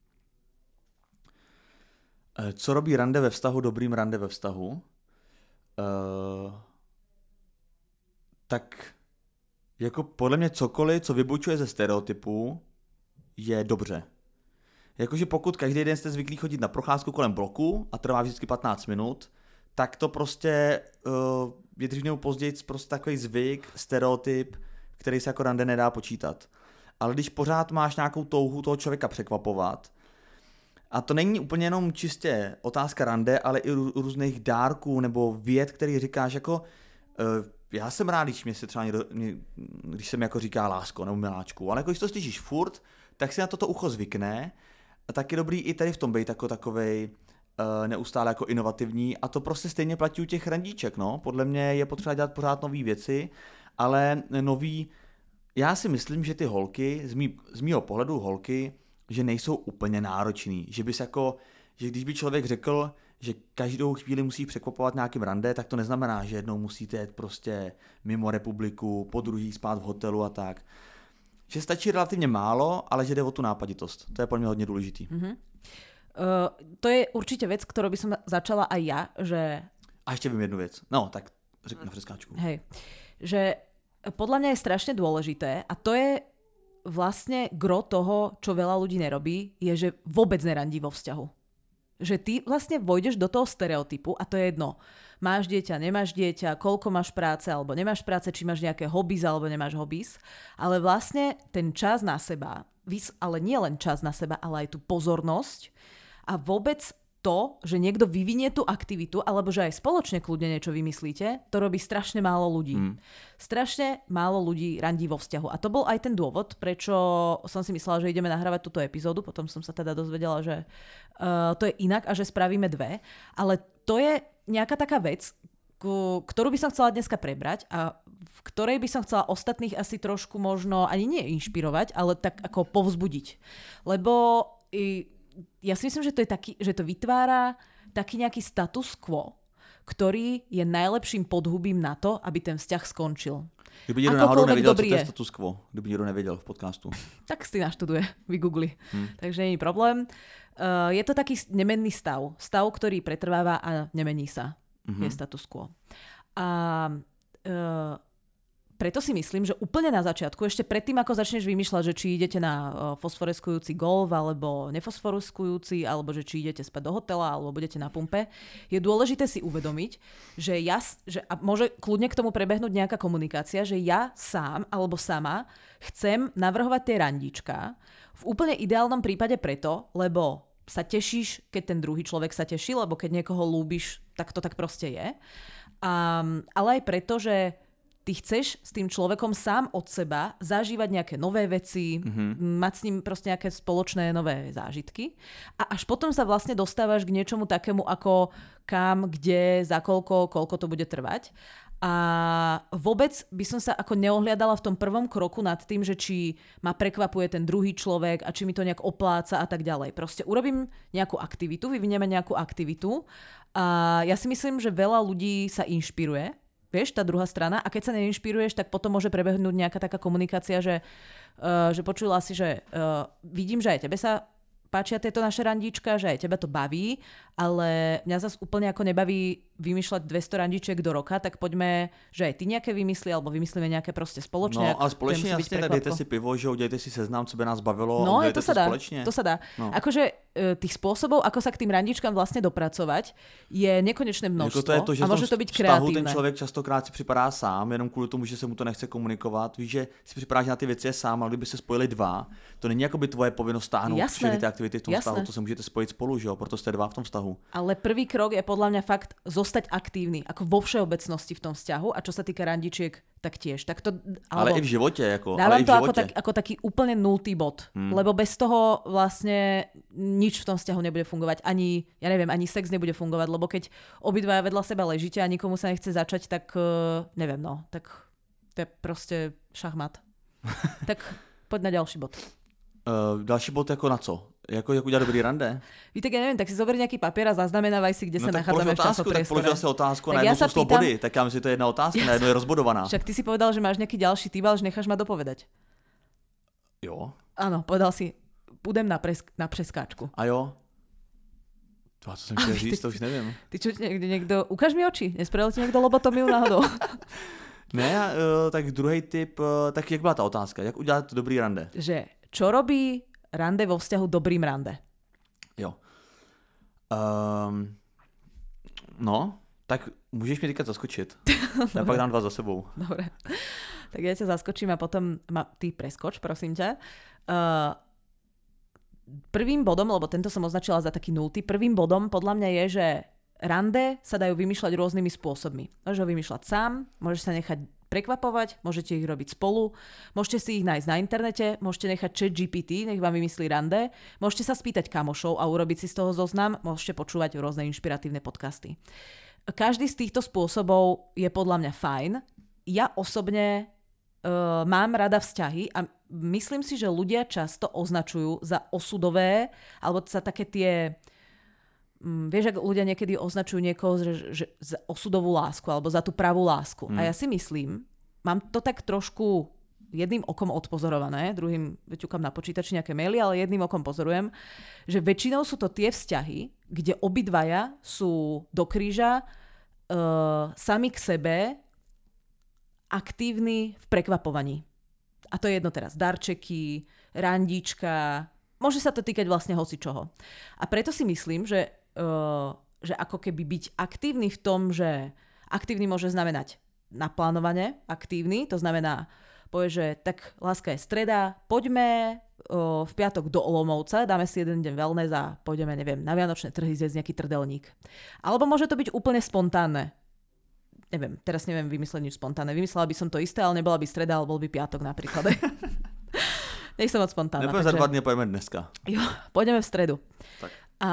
Co robí rande ve vztahu dobrým rande ve vztahu? Uh, tak jako podle mě cokoliv, co vybočuje ze stereotypů, je dobře. Jakože pokud každý den jste zvyklí chodit na procházku kolem bloku a trvá vždycky patnáct minut, tak to prostě uh, je dřív nebo později prostě takový zvyk, stereotyp, který se jako rande nedá počítat. Ale když pořád máš nějakou touhu toho člověka překvapovat, a to není úplně jenom čistě otázka rande, ale i rů, různých dárků nebo vět, který říkáš jako uh, já jsem rád, když mě se třeba někdo, mě, když se mi jako říká lásko nebo miláčku, ale jako když to slyšíš furt, tak si na toto ucho zvykne. A tak je dobrý i tady v tom být jako takovej uh, neustále jako inovativní a to prostě stejně platí u těch randíček, no. Podle mě je potřeba dělat pořád nový věci, ale nový, já si myslím, že ty holky, z, mý, z mýho pohledu holky, že nejsou úplně náročný, že bys jako, že když by člověk řekl, že každou chvíli musí překvapovat nějakým rande, tak to neznamená, že jednou musíte jet prostě mimo republiku, po druhý spát v hotelu a tak. Že stačí relativně málo, ale že jde o tu nápaditost. To je pro mě hodně důležitý. Mm-hmm. Uh, to je určitě věc, kterou by som začala aj ja, že... A ještě vím jednu věc. No, tak řekni na freskáčku. Hej, že podľa mňa je strašne dôležité a to je vlastne gro toho, čo veľa ľudí nerobí, je, že vôbec nerandí vo vzťahu. Že ty vlastne vojdeš do toho stereotypu a to je jedno. Máš dieťa, nemáš dieťa, koľko máš práce alebo nemáš práce, či máš nejaké hobbies alebo nemáš hobbies, ale vlastne ten čas na seba, ale nie len čas na seba, ale aj tú pozornosť a vôbec to, že niekto vyvinie tú aktivitu, alebo že aj spoločne kľudne niečo vymyslíte, to robí strašne málo ľudí. Mm. Strašne málo ľudí randí vo vzťahu. A to bol aj ten dôvod, prečo som si myslela, že ideme nahrávať túto epizódu, potom som sa teda dozvedela, že uh, to je inak a že spravíme dve. Ale to je nejaká taká vec, ktorú by som chcela dneska prebrať a v ktorej by som chcela ostatných asi trošku možno ani nie inšpirovať, ale tak ako povzbudiť. Lebo i, ja si myslím, že to je taký, že to vytvára taký nejaký status quo, ktorý je najlepším podhubím na to, aby ten vzťah skončil. Kdyby někdo náhodou nevěděl, co to je status quo, kdyby někdo nevěděl v podcastu. Tak si naštuduje, vygoogli. Hmm. Takže není problém. Uh, je to taký nemenný stav. Stav, ktorý pretrváva a nemení sa. Mm-hmm. Je status quo. A uh, preto si myslím, že úplne na začiatku, ešte predtým, ako začneš vymýšľať, že či idete na uh, fosforeskujúci golf, alebo nefosforeskujúci, alebo že či idete spať do hotela, alebo budete na pumpe, je dôležité si uvedomiť, že ja, že, a môže kľudne k tomu prebehnúť nejaká komunikácia, že ja sám, alebo sama chcem navrhovať tie randíčka v úplne ideálnom prípade preto, lebo sa tešíš, keď ten druhý človek sa teší, lebo keď niekoho ľúbiš, tak to tak proste je. Um, ale aj preto, že ty chceš s tým človekom sám od seba zažívať nejaké nové veci, mm-hmm. mať s ním proste nejaké spoločné nové zážitky a až potom sa vlastne dostávaš k niečomu takému ako kam, kde, za koľko, koľko to bude trvať. A vôbec by som sa ako neohliadala v tom prvom kroku nad tým, že či ma prekvapuje ten druhý človek a či mi to nejak opláca a tak ďalej. Proste urobím nejakú aktivitu, vyvinieme nejakú aktivitu a ja si myslím, že veľa ľudí sa inšpiruje, vieš, tá druhá strana, a keď sa neinšpiruješ, tak potom môže prebehnúť nejaká taká komunikácia, že, uh, že počula si, že uh, vidím, že aj tebe sa páčia tieto naše randíčka, že aj teba to baví, ale mňa zase úplne ako nebaví vymýšľať dvesto randíček do roka, tak poďme, že aj ty nejaké vymyslí, alebo vymyslíme nejaké proste spoločne. No a společne jasne, tak dejte si pivo, že udělejte si seznam, co by nás bavilo. No, a to sa dá, společne. to sa dá. No. Akože tých spôsobov, ako sa k tým randíčkam vlastne dopracovať, je nekonečné množstvo. Jako to je to, že a môže to byť kreatívne. Ten člověk častokrát si připadá sám, jenom kvůli tomu, že se mu to nechce komunikovat. Víš, že si připadáš na ty věci sám, ale kdyby se spojili dva, to není jako by tvoje povinnost stáhnout všechny ty aktivity v tom vztahu, to se můžete spojit spolu, že jo, proto jste dva v tom vztahu. Ale prvý krok je podľa mňa fakt zostať aktívny, ako vo všeobecnosti v tom vzťahu a čo sa týka randičiek, tak tiež. Tak to, ale i v živote. Jako, dávam ale to i v ako, tak, ako taký úplne nultý bod. Hmm. Lebo bez toho vlastne nič v tom vzťahu nebude fungovať. Ani, ja neviem, ani sex nebude fungovať, lebo keď obidvaja vedľa seba ležíte a nikomu sa nechce začať, tak uh, neviem, no. Tak to je proste šachmat. Tak poď na ďalší bod. Uh, další bod jako na co? Jako, jak udělat dobrý rande? Víte, ja neviem, tak si zober nejaký papier a zaznamenávaj si, kde no, sa nachádzame v časopriestore. Tak položil si otázku tak na ja jednu sú sto pýtam... body, tak ja myslím, že to je jedna otázka, ja na jednu je rozbodovaná. Však ty si povedal, že máš nejaký ďalší typ, ale že necháš ma dopovedať. Jo. Áno, povedal si, pôjdem na, pres... na preskáčku. A jo? To, co som chtěl říct, to už neviem. Ty čo, niekde niekto... Ukáž mi oči, nespravil ti niekto lobotomiu náhodou. Ne, uh, tak druhý tip, uh, tak jak byla ta otázka? Jak udělat dobrý rande? Že čo robí rande vo vzťahu dobrým rande? Jo. Um, no, tak můžeš mi teďka zaskočit. Já pak dám dva za sebou. Dobre. Tak ja ťa zaskočím a potom ma, ty preskoč, prosím ťa. Uh, prvým bodom, lebo tento som označila za taký nultý, prvým bodom podľa mňa je, že rande sa dajú vymýšľať rôznymi spôsobmi. Môžeš ho vymýšľať sám, môžeš sa nechať prekvapovať, môžete ich robiť spolu, môžete si ich nájsť na internete, môžete nechať chat G P T, nech vám vymyslí rande, môžete sa spýtať kamošov a urobiť si z toho zoznam, môžete počúvať rôzne inšpiratívne podcasty. Každý z týchto spôsobov je podľa mňa fajn. Ja osobne uh, mám rada vzťahy a myslím si, že ľudia často označujú za osudové, alebo za také tie... Um, vieš, ak ľudia niekedy označujú niekoho že, že za osudovú lásku alebo za tú pravú lásku. Mm. A ja si myslím, mám to tak trošku jedným okom odpozorované, druhým vyťukám na počítači nejaké maily, ale jedným okom pozorujem, že väčšinou sú to tie vzťahy, kde obidvaja sú do kríža uh, sami k sebe aktívni v prekvapovaní. A to je jedno teraz. Darčeky, randíčka, môže sa to týkať vlastne hocičoho. A preto si myslím, že, uh, že ako keby byť aktívny v tom, že aktívny môže znamenať naplánovane, aktívny, to znamená povie, že tak láska je streda, poďme o, v piatok do Olomouca, dáme si jeden deň wellness a pôjdeme, neviem, na vianočné trhy zjesť nejaký trdelník. Alebo môže to byť úplne spontánne. Neviem, teraz neviem vymysleť nič spontánne. Vymyslela by som to isté, ale nebola by streda, ale bol by piatok napríklad. Nech som moc spontánna. Nepojeme takže... za dva dny, pojeme dneska. Jo, pôjdeme v stredu. Tak. A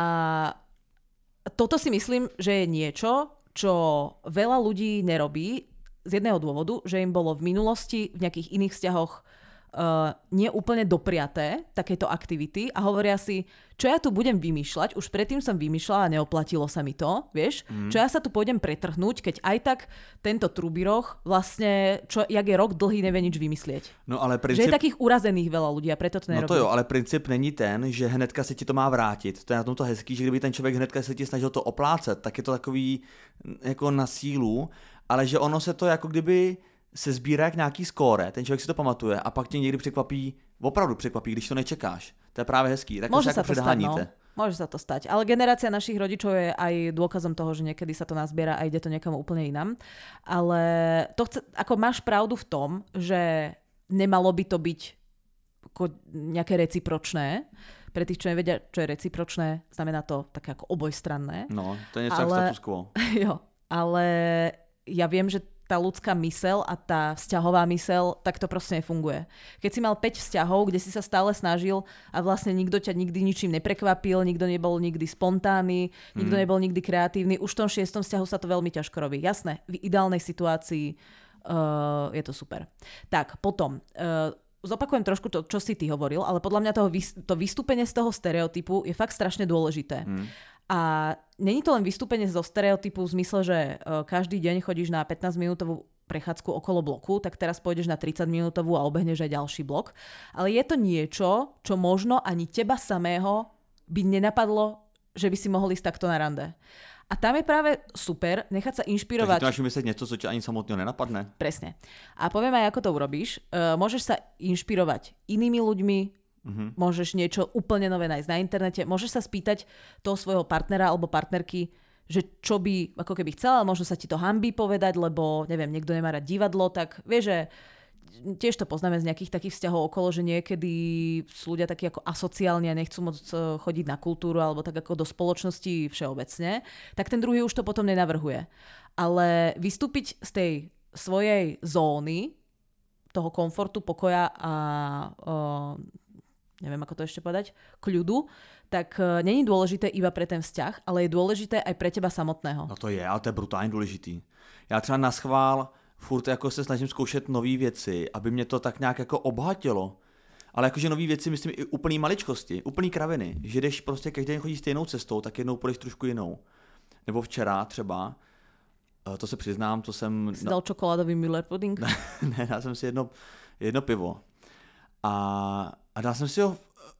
toto si myslím, že je niečo, čo veľa ľudí nerobí, z jedného dôvodu, že im bolo v minulosti v nejakých iných vzťahoch uh, nie úplne dopriaté takéto aktivity a hovoria si, čo ja tu budem vymýšľať, už predtým som vymýšľala a neoplatilo sa mi to, vieš, mm. čo ja sa tu pôjdem pretrhnúť, keď aj tak tento trubiroch vlastne, čo, jak je rok dlhý, nevie nič vymyslieť. No, ale princíp... Že je takých urazených veľa ľudí a preto to nerobí. No to jo, ale princip není ten, že hnedka se ti to má vrátit. To je na tom to hezký, že kdyby ten člověk hnedka se ti snažil to oplácet, tak je to takový jako na sílu. Ale že ono se to jako kdyby se sbírá jak nějaký skóre, ten člověk si to pamatuje a pak tě někdy překvapí, opravdu překvapí, když to nečekáš. To je právě hezký. Tak môže sa sa ako to stať, no. Môže sa to stať. Ale generácia našich rodičov je aj dôkazom toho, že niekedy sa to nazbiera a ide to niekam úplne inam. Ale to chce, ako máš pravdu v tom, že nemalo by to byť ako nejaké recipročné. Pre tých, čo nevedia, čo je recipročné, znamená to také ako obojstranné. No, to je niečo ale... status quo. Jo, ale ja viem, že tá ľudská mysel a tá vzťahová mysel, tak to proste nefunguje. Keď si mal päť vzťahov, kde si sa stále snažil a vlastne nikto ťa nikdy ničím neprekvapil, nikto nebol nikdy spontánny, nikto mm. nebol nikdy kreatívny, už v tom šiestom vzťahu sa to veľmi ťažko robí. Jasné, v ideálnej situácii uh, je to super. Tak, potom... Uh, zopakujem trošku to, čo si ty hovoril, ale podľa mňa toho, to vystúpenie z toho stereotypu je fakt strašne dôležité. Mm. A není to len vystúpenie zo stereotypu v zmysle, že každý deň chodíš na pätnásťminútovú prechádzku okolo bloku, tak teraz pôjdeš na tridsaťminútovú a obehneš aj ďalší blok. Ale je to niečo, čo možno ani teba samého by nenapadlo, že by si mohol ísť takto na rande. A tam je práve super nechať sa inšpirovať. Takže ty máš vymyslieť niečo, co ťa ani samotného nenapadne. Presne. A poviem aj, ako to urobíš. Uh, môžeš sa inšpirovať inými ľuďmi, uh-huh. môžeš niečo úplne nové nájsť na internete, môžeš sa spýtať toho svojho partnera alebo partnerky, že čo by ako keby chcela, možno sa ti to hanbí povedať, lebo neviem, niekto nemá rád divadlo, tak vieš, že tiež to poznáme z nejakých takých vzťahov okolo, že niekedy sú ľudia takí ako asociálni a nechcú moc chodiť na kultúru alebo tak ako do spoločnosti všeobecne, tak ten druhý už to potom nenavrhuje. Ale vystúpiť z tej svojej zóny, toho komfortu, pokoja a o, neviem, ako to ešte povedať, kľudu, tak není dôležité iba pre ten vzťah, ale je dôležité aj pre teba samotného. No to je, ale to je brutálně důležitý. Já třeba na schvál furt jako se snažím zkoušet nové věci, aby mě to tak nějak jako obohatilo. Ale jakože nový věci, myslím i úplný maličkosti, úplný kraviny, že jdeš prostě každý den chodí stejnou cestou, tak jednou půjdeš trošku jinou. Nebo včera třeba, to se přiznám, to jsem... Jsi dal čokoládový Müller pudding? Ne, dal jsem si jedno, jedno pivo. A, a dal jsem si ho...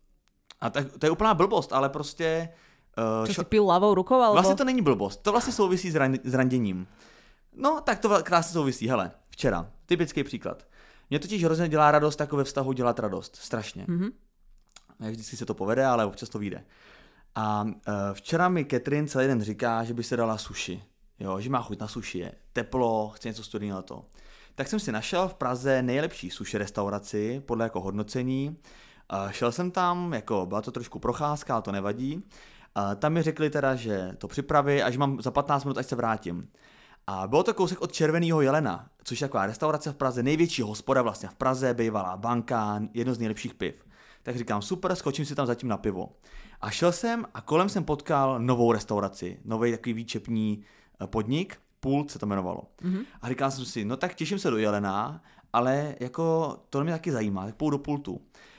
A tak, to je úplná blbost, ale prostě... Uh, Čo šo... si pil ľavou rukou? Alebo... Vlastně to není blbost, to vlastně souvisí s, ran, s randěním. No, tak to krásně souvisí. Hele, včera, typický příklad. Mě totiž hrozně dělá radost jako ve vztahu dělat radost. Strašně. Mm-hmm. Ne vždycky se to povede, ale občas to vyjde. A uh, včera mi Catherine celý den říká, že by se dala sushi. Jo, že má chuť na sushi, je teplo, chce něco studeného to. Tak jsem si našel v Praze nejlepší sushi restauraci podle jako hodnocení. Uh, šel jsem tam, jako byla to trošku procházka, ale to nevadí. Uh, tam mi řekli teda, že to připraví a že mám za patnáct minut, až se vrátím. A bylo to kousek od Červeného jelena, což je taková restaurace v Praze, největší hospoda vlastně v Praze, bývalá banka, jedno z nejlepších piv. Tak říkám, super, skočím si tam zatím na pivo. A šel jsem a kolem jsem potkal novou restauraci, nový takový výčepní podnik, Pult se to jmenovalo. Mm-hmm. A říkal jsem si, no tak těším se do jelena, ale jako to mě taky zajímá, tak půjdu do Pultu.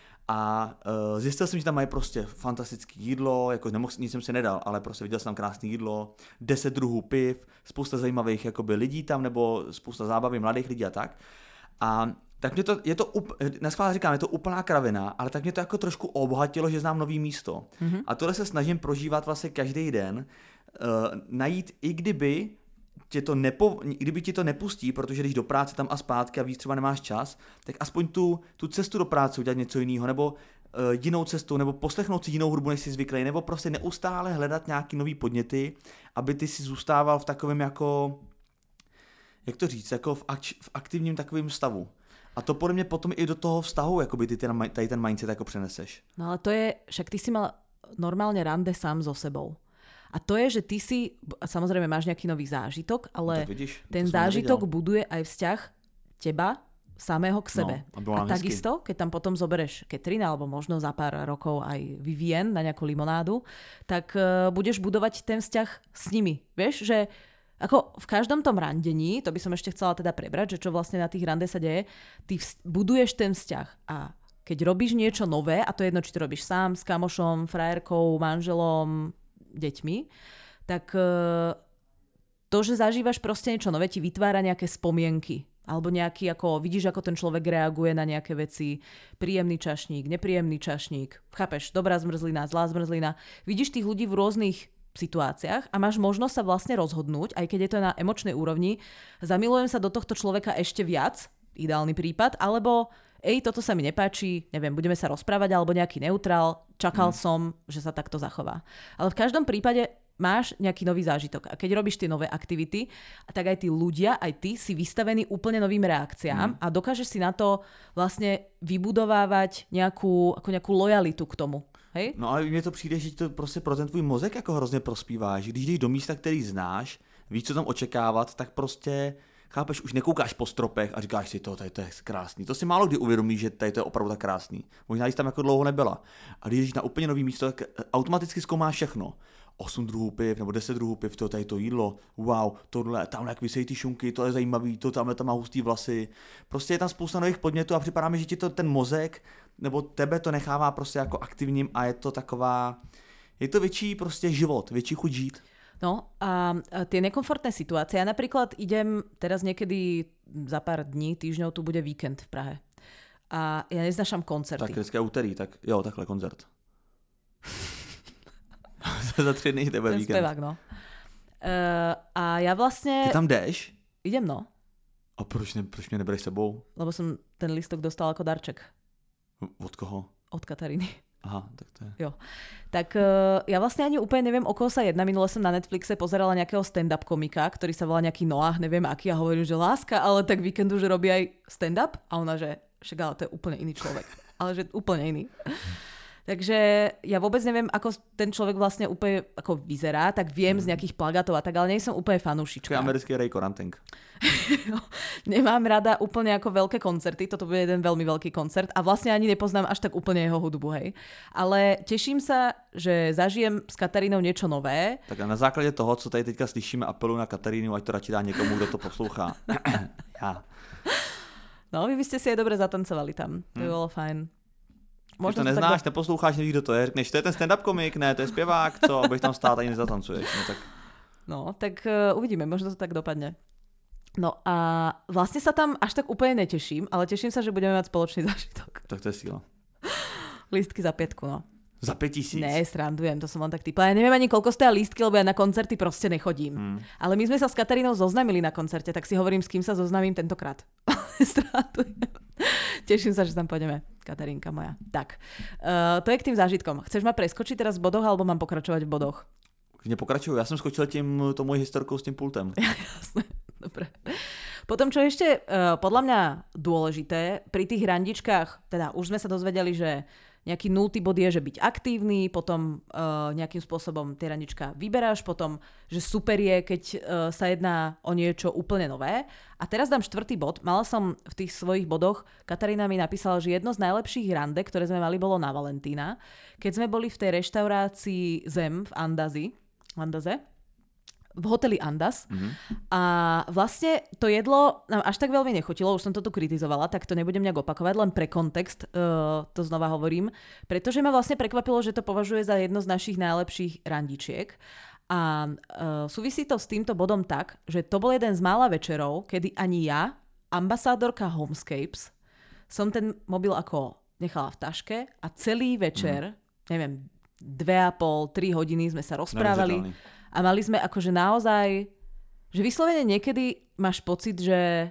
A uh, zjistil jsem, že tam mají prostě fantastické jídlo, jako nemohl, nic jsem si nedal, ale prostě viděl jsem tam krásné jídlo, deset druhů piv, spousta zajímavých jakoby lidí tam, nebo spousta zábavy mladých lidí a tak. A tak mě to, je to, neschválně říkám, je to úplná kravina, ale tak mě to jako trošku obohatilo, že znám nový místo. Mm-hmm. A tohle se snažím prožívat vlastně každý den, uh, najít, i kdyby tě to nepo, kdyby ti to nepustí, protože když do práce tam a zpátky a víc třeba nemáš čas, tak aspoň tu, tu cestu do práce udělat něco jiného, nebo uh, jinou cestu, nebo poslechnout si jinou hudbu, než jsi zvyklý, nebo prostě neustále hledat nějaký nový podněty, aby ty si zůstával v takovém jako, jak to říct, jako v, akč, v aktivním takovém stavu. A to podle mě potom i do toho vztahu, jakoby ty ten, tady ten mindset jako přeneseš. No ale to je, však ty si mal normálne rande sám so sebou. A to je, že ty si, samozrejme máš nejaký nový zážitok, ale no vidíš, ten zážitok nevedel. Buduje aj vzťah teba samého k sebe. No, a, a takisto, keď tam potom zobereš Catherine, alebo možno za pár rokov aj Vivien na nejakú limonádu, tak uh, budeš budovať ten vzťah s nimi. Vieš, že ako v každom tom randení, to by som ešte chcela teda prebrať, že čo vlastne na tých rande sa deje, ty vz- buduješ ten vzťah a keď robíš niečo nové, a to je jedno, či to robíš sám, s kamošom, frajerkou, manželom, deťmi, tak to, že zažívaš proste niečo nové, ti vytvára nejaké spomienky. Alebo nejaký, ako vidíš, ako ten človek reaguje na nejaké veci. Príjemný čašník, nepríjemný čašník. Chápeš? Dobrá zmrzlina, zlá zmrzlina. Vidíš tých ľudí v rôznych situáciách a máš možnosť sa vlastne rozhodnúť, aj keď je to na emočnej úrovni, zamilujem sa do tohto človeka ešte viac, ideálny prípad, alebo ej, toto sa mi nepáči, neviem, budeme sa rozprávať, alebo nejaký neutrál, čakal mm. som, že sa takto zachová. Ale v každom prípade máš nejaký nový zážitok. A keď robíš tie nové aktivity, tak aj tí ľudia, aj ty si vystavený úplne novým reakciám mm. a dokážeš si na to vlastne vybudovávať nejakú, ako nejakú lojalitu k tomu. Hej? No ale mně to přijde, že to prostě pro ten tvůj mozek jako hrozně prospívá, že když jdeš do místa, který znáš, víš, co tam očekávat, tak prostě chápeš, už nekoukáš po stropech a říkáš si to, tady to je krásný. To si málo kdy uvědomíš, že tady to je opravdu tak krásný. Možná jsi tam jako dlouho nebyla. A když jdeš na úplně nový místo, tak automaticky zkoumáš všechno. osm druhů piv nebo deset druhů piv, to tady to jídlo, wow, tohle, tamhle jak vysejí ty šunky, to je zajímavý, to tamhle tam má hustý vlasy. Prostě je tam spousta nových podnětů a připadá mi, že ti to ten mozek nebo tebe to nechává prostě jako aktivním a je to taková, je to větší prostě život, větší chuť žít. No a tie nekomfortné situácie, ja napríklad idem teraz niekedy za pár dní, týždňov, tu bude víkend v Prahe. A ja neznášam koncerty. Tak dneska je úterý, tak jo, takhle koncert. Za tři dny tebe ten víkend. Ten spevák, no. Uh, a ja vlastne... Ty tam jdeš? Idem, no. A proč, ne, proč mě nebereš sebou? Lebo som ten listok dostal ako darček. Od koho? Od Kataríny. Aha, tak to je. Jo. Tak uh, ja vlastne ani úplne neviem, o koho sa jedná. Minule som na Netflixe pozerala nejakého stand-up komika, ktorý sa volá nejaký Noah, neviem aký, a hovorím, že láska, ale tak víkendu, že robí aj stand-up. A ona, že však ale to je úplne iný človek. Ale že úplne iný. Takže ja vôbec neviem, ako ten človek vlastne úplne ako vyzerá, tak viem z nejakých plagátov a tak, ale nie som úplne fanúšička. To je americký Ray Koranteng. Nemám rada úplne ako veľké koncerty, toto bude jeden veľmi veľký koncert a vlastne ani nepoznám až tak úplne jeho hudbu, hej. Ale teším sa, že zažijem s Katarínou niečo nové. Tak a na základě toho, co tady teďka slyšíme, apeluji na Katarínu, ať to radši dá někomu, kdo to poslouchá. Ja. No, vy by ste si aj dobre zatancovali tam. To by hmm. bolo fajn. Ty to neznáš, tak... neposloucháš, nevíš, kdo to je, řekneš, to je ten stand-up komik, ne, to je zpěvák, co, abych tam stát ani nezatancuješ. No tak, no, tak uh, uvidíme, možno to tak dopadne. No a vlastne sa tam až tak úplne neteším, ale teším sa, že budeme mať spoločný zážitok. Tak to je síla. Lístky za pätku, no. Za päť tisíc? Ne, srandujem, to som len tak typla. Ja neviem ani koľko stoja lístky, lebo ja na koncerty proste nechodím. Hmm. Ale my sme sa s Katarínou zoznamili na koncerte, tak si hovorím, s kým sa zoznamím tentokrát. Srandujem. Teším sa, že tam pôjdeme, Katarínka moja. Tak, uh, to je k tým zážitkom. Chceš ma preskočiť teraz v bodoch, alebo mám pokračovať v bodoch? Nepokračuju, ja som skočil tím, to mojí historkou s tým pultem. Jasné, dobre. Potom, čo ešte uh, podľa mňa dôležité, pri tých randičkách, teda už sme sa dozvedeli, že nejaký nultý bod je, že byť aktívny, potom uh, nejakým spôsobom tie randička vyberáš, potom, že super je, keď uh, sa jedná o niečo úplne nové. A teraz dám štvrtý bod. Mala som v tých svojich bodoch, Katarína mi napísala, že jedno z najlepších rande, ktoré sme mali, bolo na Valentína, keď sme boli v tej reštaurácii Zem v Andazi, Andaze, v hoteli Andas. Mm-hmm. A vlastne to jedlo nám až tak veľmi nechutilo, už som to tu kritizovala, tak to nebudem nejak opakovať, len pre kontext uh, to znova hovorím, pretože ma vlastne prekvapilo, že to považuje za jedno z našich najlepších randičiek. A uh, súvisí to s týmto bodom tak, že to bol jeden z mála večerov, kedy ani ja, ambasadorka Homescapes, som ten mobil ako nechala v taške a celý večer, mm. neviem, dve a pol, tri hodiny sme sa rozprávali. A mali sme akože naozaj, že vyslovene niekedy máš pocit, že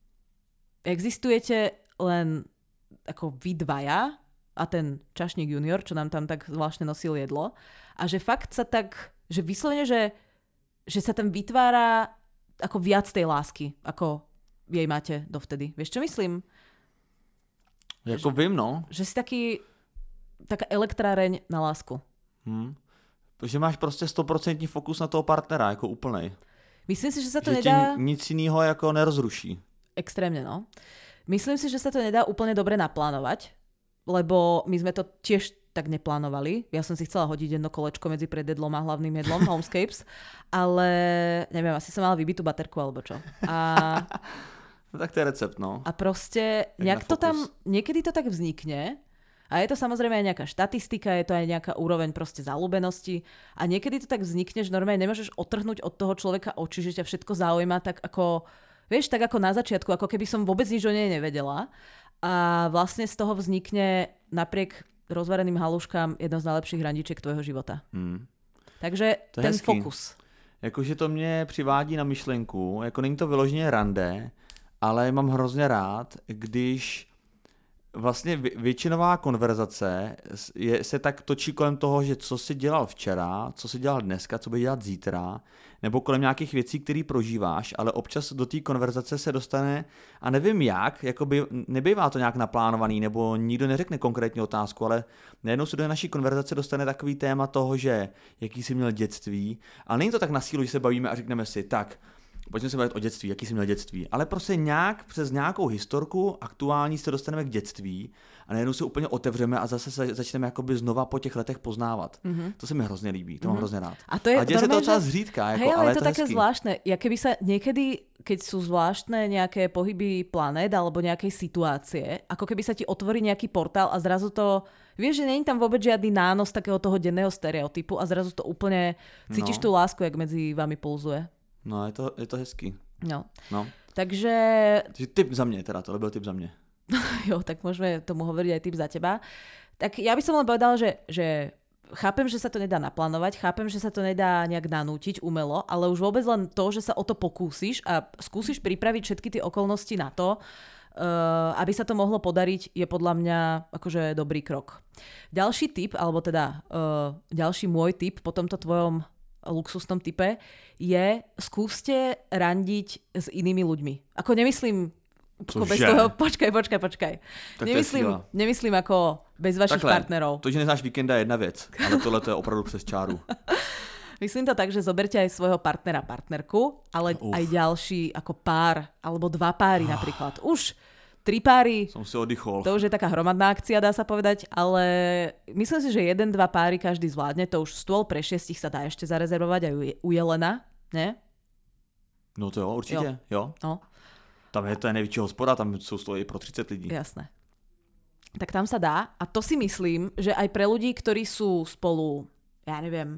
existujete len ako vy dvaja a ten čašník junior, čo nám tam tak zvláštne nosil jedlo. A že fakt sa tak, že vyslovene, že, že sa tam vytvára ako viac tej lásky, ako jej máte dovtedy. Vieš, čo myslím? Jako že, vím, no. Že si taký, taká elektráreň na lásku. Hmm. Že máš prostě sto procent fokus na toho partnera, jako úplnej. Myslím si, že sa to že nedá... nic iného jako nerozruší. Extrémne, no. Myslím si, že sa to nedá úplne dobre naplánovať, lebo my sme to tiež tak neplánovali. Ja som si chcela hodiť jedno kolečko medzi predjedlom a hlavným jedlom Homescapes, ale neviem, asi som mala vybitú baterku alebo čo. A... no tak to je recept, no. A proste nejak to tam, niekedy to tak vznikne. A je to samozrejme aj nejaká štatistika, je to aj nejaká úroveň proste zaľúbenosti a niekedy to tak vznikne, že normálne nemôžeš otrhnúť od toho človeka oči, že ťa všetko zaujíma tak ako, vieš, tak ako na začiatku, ako keby som vôbec nič o nej nevedela a vlastne z toho vznikne napriek rozvareným haluškám jedno z najlepších randičiek tvojho života. Hmm. Takže ten hezký fokus. Jakože to mě přivádí na myšlenku, jako není to vyloženě rande, ale mám hrozně rád, když vlastně většinová konverzace je, se tak točí kolem toho, že co jsi dělal včera, co jsi dělal dneska, co budeš dělat zítra, nebo kolem nějakých věcí, které prožíváš, ale občas do té konverzace se dostane, a nevím jak, jakoby nebývá to nějak naplánovaný, nebo nikdo neřekne konkrétní otázku, ale najednou se do naší konverzace dostane takový téma toho, že jaký jsi měl dětství, ale není to tak na sílu, že se bavíme a řekneme si, tak, pojďme se bavit o dětství, jaký jsi měl dětství. Ale prostě nějak přes nějakou historku aktuální se dostaneme k dětství a najednou se úplně otevřeme a zase se začneme jakoby znova po těch letech poznávat. Mm-hmm. To se mi hrozně líbí, to mm-hmm. mám hrozně rád. A, to je a děje se to docela zřídka. Jako, hej, ale, ale je to, to také hezký. Zvláštne. Ja keby sa niekedy, keď sú zvláštne nejaké pohyby planét alebo nejakej situácie, ako keby sa ti otvorí nejaký portál a zrazu to, vieš, že nie je tam vôbec žiadny nános takého toho denného stereotypu a zrazu to úplne cítiš no. tú lásku, jak medzi vami pulzuje. No, je to, je to hezký. No. no. Takže... Tip za mě teda, to byl tip za mě. Jo, tak môžeme tomu hovoriť aj tip za teba. Tak ja by som len povedala, že, že chápem, že sa to nedá naplánovať, chápem, že sa to nedá nejak nanútiť umelo, ale už vôbec len to, že sa o to pokúsiš a skúsiš pripraviť všetky tie okolnosti na to, uh, aby sa to mohlo podariť, je podľa mňa akože dobrý krok. Ďalší tip, alebo teda uh, ďalší môj tip po tomto tvojom luxusnom type je skúste randiť s inými ľuďmi. Ako nemyslím ako bez toho, počkaj, počkaj, počkaj. Nemyslím, nemyslím ako bez vašich takhle, partnerov. To, že neznáš víkenda je jedna věc, ale tohle to je opravdu přes čáru. Myslím to tak, že zoberte aj svojho partnera, partnerku, ale Uf. aj ďalší ako pár, alebo dva páry napríklad. Už tri páry, som si oddychol. To už je taká hromadná akcia, dá sa povedať, ale myslím si, že jeden, dva páry každý zvládne, to už stôl pre šiestich sa dá ešte zarezervovať aj u Jelena, ne? No to jo, určitě, jo. jo. No. Tam je to největší hospoda, tam jsou stoly pro třicet lidí. Jasné. tak tam sa dá. A to si myslím, že aj pre ľudí, ktorí sú spolu, ja neviem,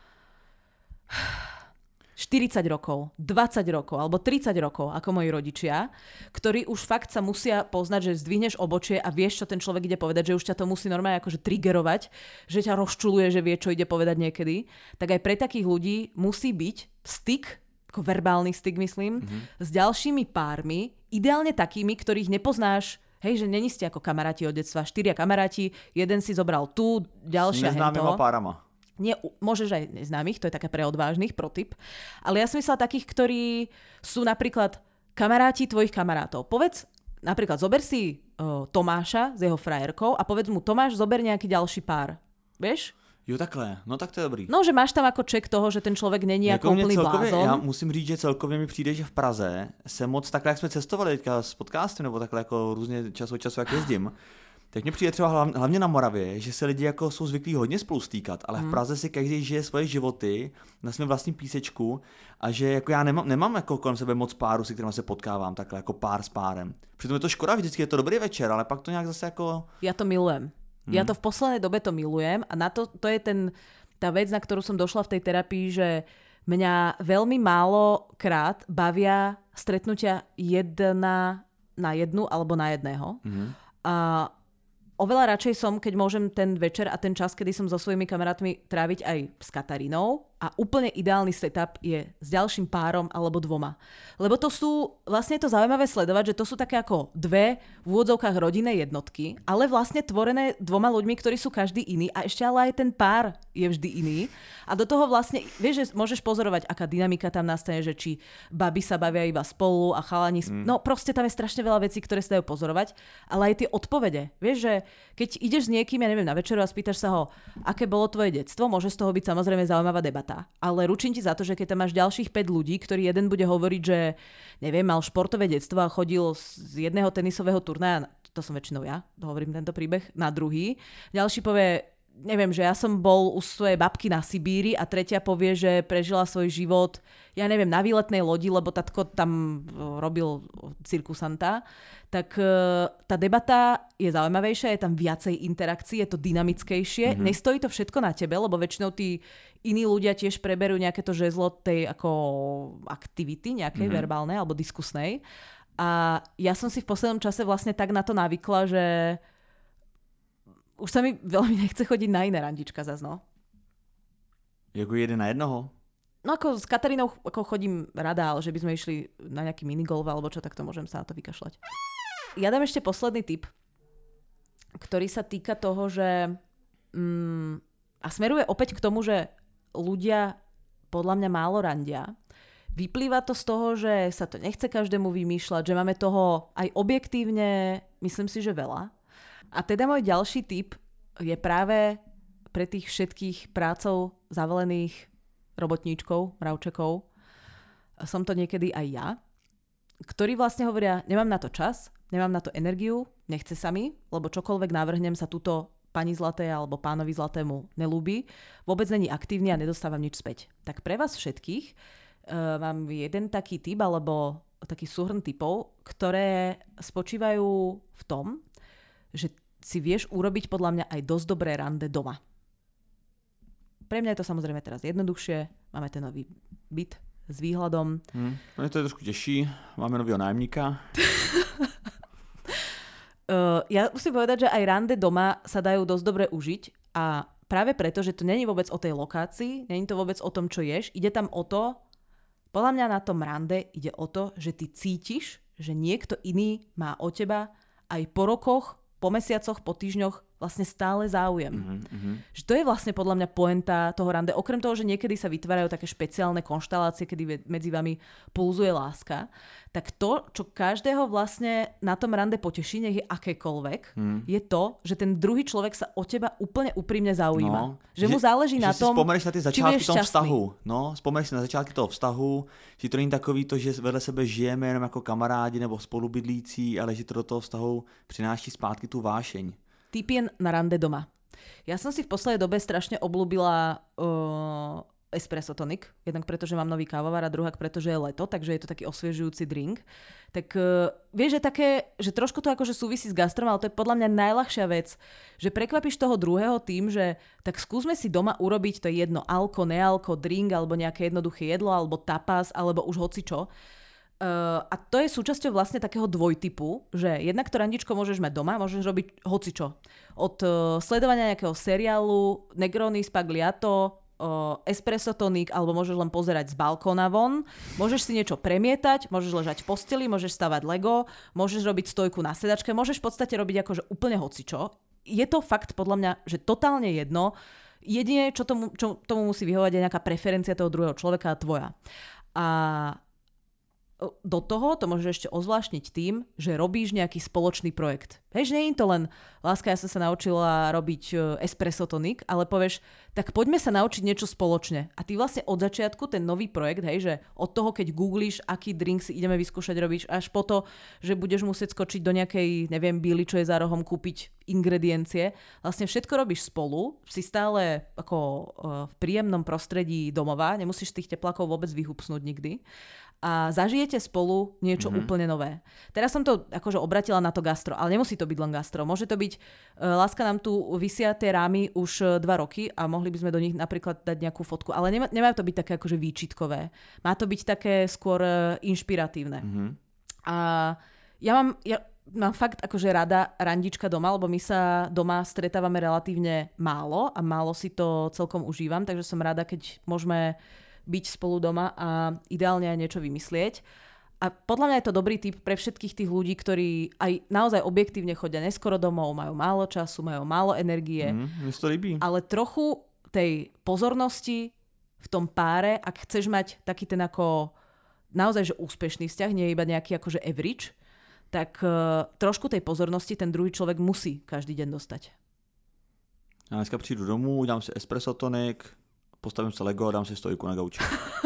štyridsať rokov, dvadsať rokov alebo tridsať rokov, ako moji rodičia, ktorí už fakt sa musia poznať, že zdvihneš obočie a vieš, čo ten človek ide povedať, že už ťa to musí normálne akože triggerovať, že ťa rozčuluje, že vie, čo ide povedať niekedy, tak aj pre takých ľudí musí byť styk, ako verbálny styk, myslím, mm-hmm. s ďalšími pármi, ideálne takými, ktorých nepoznáš. Hej, že není ste ako kamaráti od detstva, štyria kamaráti, jeden si zobral tu, ďalšia hento. S neznámyma párama. Nie, môžeš aj neznámych, to je také pre odvážnych, pro tip. Ale ja som myslela takých, ktorí sú napríklad kamaráti tvojich kamarátov. Povedz, napríklad zober si uh, Tomáša s jeho frajerkou a povedz mu, Tomáš, zober nejaký ďalší pár. Vieš? Jo, takhle, no tak to je dobrý. No, že máš tam ako ček toho, že ten člověk není jako úplný blázon. Já musím říct, že celkově mi přijde, že v Praze se moc takhle, jak jsme cestovali teďka s podcastem, nebo takhle jako různě čas od času, jak jezdím, tak mně přijde třeba hlavně na Moravě, že se lidi jako jsou zvyklí hodně spolu stýkat, ale v Praze si každý žije svoje životy na svém vlastním písečku a že jako já nemám, nemám jako kolem sebe moc páru, se kterými se potkávám takhle jako pár s párem. Přitom je to škoda, vždycky je to dobrý večer, ale pak to nějak zase jako... Já to milujem. Hmm. Ja to v poslednej dobe to milujem a na to, to je ten, tá vec, na ktorú som došla v tej terapii, že mňa veľmi málo krát bavia stretnutia jedna na jednu alebo na jedného. Hmm. A oveľa radšej som, keď môžem ten večer a ten čas, kedy som so svojimi kamarátmi tráviť aj s Katarínou a úplne ideálny setup je s ďalším párom alebo dvoma. Lebo to sú, vlastne je to zaujímavé sledovať, že to sú také ako dve v úvodzovkách rodinné jednotky, ale vlastne tvorené dvoma ľuďmi, ktorí sú každý iný a ešte ale aj ten pár je vždy iný. A do toho vlastne, vieš, že môžeš pozorovať, aká dynamika tam nastane, že či baby sa bavia iba spolu a chalani... Mm. No proste tam je strašne veľa vecí, ktoré sa dajú pozorovať, ale aj tie odpovede. Vieš, že keď ideš s niekým, ja neviem, na večeru a spýtaš sa ho, aké bolo tvoje detstvo, môže z toho byť samozrejme zaujímavá debata. Ale ručím ti za to, že keď tam máš ďalších päť ľudí, ktorý jeden bude hovoriť, že neviem, mal športové detstvo a chodil z jedného tenisového turnaja, to som väčšinou ja, hovorím tento príbeh, na druhý. Ďalší povie, neviem, že ja som bol u svojej babky na Sibíri a tretia povie, že prežila svoj život, ja neviem, na výletnej lodi, lebo tatko tam robil cirkusanta. Tak tá debata je zaujímavejšia, je tam viacej interakcií, je to dynamickejšie. Mm-hmm. Nestojí to všetko na tebe, lebo väčšinou tí iní ľudia tiež preberú nejaké to žezlo tej ako aktivity, nejakej mm-hmm. verbálnej alebo diskusnej. A ja som si v poslednom čase vlastne tak na to navykla, že už sa mi veľmi nechce chodiť na iné randička zas, no. Jako jeden na jednoho? No ako s Katarínou ako chodím rada, ale že by sme išli na nejaký minigolf alebo čo, tak to môžem sa na to vykašľať. Ja dám ešte posledný tip, ktorý sa týka toho, že mm, a smeruje opäť k tomu, že ľudia podľa mňa málo randia. Vyplýva to z toho, že sa to nechce každému vymýšľať, že máme toho aj objektívne, myslím si, že veľa. A teda môj ďalší tip je práve pre tých všetkých prácov zavalených robotníčkov, mravčekov. Som to niekedy aj ja, ktorí vlastne hovoria, nemám na to čas, nemám na to energiu, nechce sa mi, lebo čokoľvek navrhnem sa tuto pani zlaté alebo pánovi zlatému nelúbi, vôbec není aktívny a nedostávam nič späť. Tak pre vás všetkých uh, mám jeden taký tip alebo taký súhrn tipov, ktoré spočívajú v tom, že si vieš urobiť podľa mňa aj dosť dobré rande doma. Pre mňa je to samozrejme teraz jednoduchšie. Máme ten nový byt s výhľadom. Hmm, mne to je trošku teší. Máme nového nájemníka. uh, ja musím povedať, že aj rande doma sa dajú dosť dobre užiť a práve preto, že to není vôbec o tej lokácii, není to vôbec o tom, čo ješ. Ide tam o to, podľa mňa na tom rande ide o to, že ty cítiš, že niekto iný má o teba aj po rokoch, po mesiacoch, po týždňoch vlastne stále záujem. Mm-hmm. Že to je vlastne podľa mňa pointa toho rande. Okrem toho, že niekedy sa vytvárajú také špeciálne konštelácie, kedy medzi vami pulzuje láska, tak to, čo každého vlastne na tom rande poteší, nech je akékoľvek, mm. je to, že ten druhý človek sa o teba úplne úprimne zaujíma. No, že, že mu záleží že na tom, spomeneš na ty začátky toho vztahu. No, spomeneš si na začátky toho vztahu, že to není takový to, že vedle sebe žijeme jenom jako kamarádi nebo spolubydlící, ale že to do toho vztahu přináší zpátky tu vášeň. Typien na rande doma. Ja som si v poslednej dobe strašne obľúbila uh, espresso tonic, jednak preto, že mám nový kávovar a druhá preto, že je leto, takže je to taký osviežujúci drink. Tak uh, vieš, že také, že trošku to akože súvisí s gastrom, ale to je podľa mňa najľahšia vec, že prekvapíš toho druhého tým, že tak skúsme si doma urobiť, to je jedno, alko, nealko, drink, alebo nejaké jednoduché jedlo, alebo tapas, alebo už hocičo. Uh, a to je súčasťou vlastne takého dvojtypu, že jednak to randičko môžeš mať doma, môžeš robiť hocičo. Od uh, sledovania nejakého seriálu, Negroni, Spagliato, uh, espresso tonic, alebo môžeš len pozerať z balkóna von, môžeš si niečo premietať, môžeš ležať v posteli, môžeš stavať Lego, môžeš robiť stojku na sedačke, môžeš v podstate robiť akože úplne hocičo. Je to fakt podľa mňa, že totálne jedno. Jedine, čo tomu, čo tomu musí vyhovať, je nejaká preferencia toho druhého človeka a tvoja. A do toho to môžeš ešte ozvláštniť tým, že robíš nejaký spoločný projekt. Hej, že nie je to len láska, ja som sa naučila robiť espresso tonic, ale povieš, tak poďme sa naučiť niečo spoločne. A ty vlastne od začiatku ten nový projekt, hej, že od toho, keď googlíš, aký drink si ideme vyskúšať robiť, až po to, že budeš musieť skočiť do nejakej, neviem, bíly, čo je za rohom, kúpiť ingrediencie. Vlastne všetko robíš spolu, si stále ako v príjemnom prostredí domova, nemusíš tých teplákov vôbec vyhupsnúť nikdy. A zažijete spolu niečo mm-hmm. úplne nové. Teraz som to akože obratila na to gastro, ale nemusí to byť len gastro. Môže to byť, uh, láska, nám tu visia tie rámy už uh, dva roky a mohli by sme do nich napríklad dať nejakú fotku, ale nemá, nemá to byť také akože výčitkové. Má to byť také skôr uh, inšpiratívne. Mm-hmm. A ja mám, ja mám fakt akože rada randička doma, lebo my sa doma stretávame relatívne málo a málo si to celkom užívam, takže som rada, keď môžeme byť spolu doma a ideálne aj niečo vymyslieť. A podľa mňa je to dobrý tip pre všetkých tých ľudí, ktorí aj naozaj objektívne chodia neskoro domov, majú málo času, majú málo energie. Mm, mne to líbí. Ale trochu tej pozornosti v tom páre, ak chceš mať taký ten ako naozaj že úspešný vzťah, nie iba nejaký akože average, tak uh, trošku tej pozornosti ten druhý človek musí každý deň dostať. Já dneska přijdu domů, dám si espresso tonic, postavím se Lego a dám si stojku na gauči.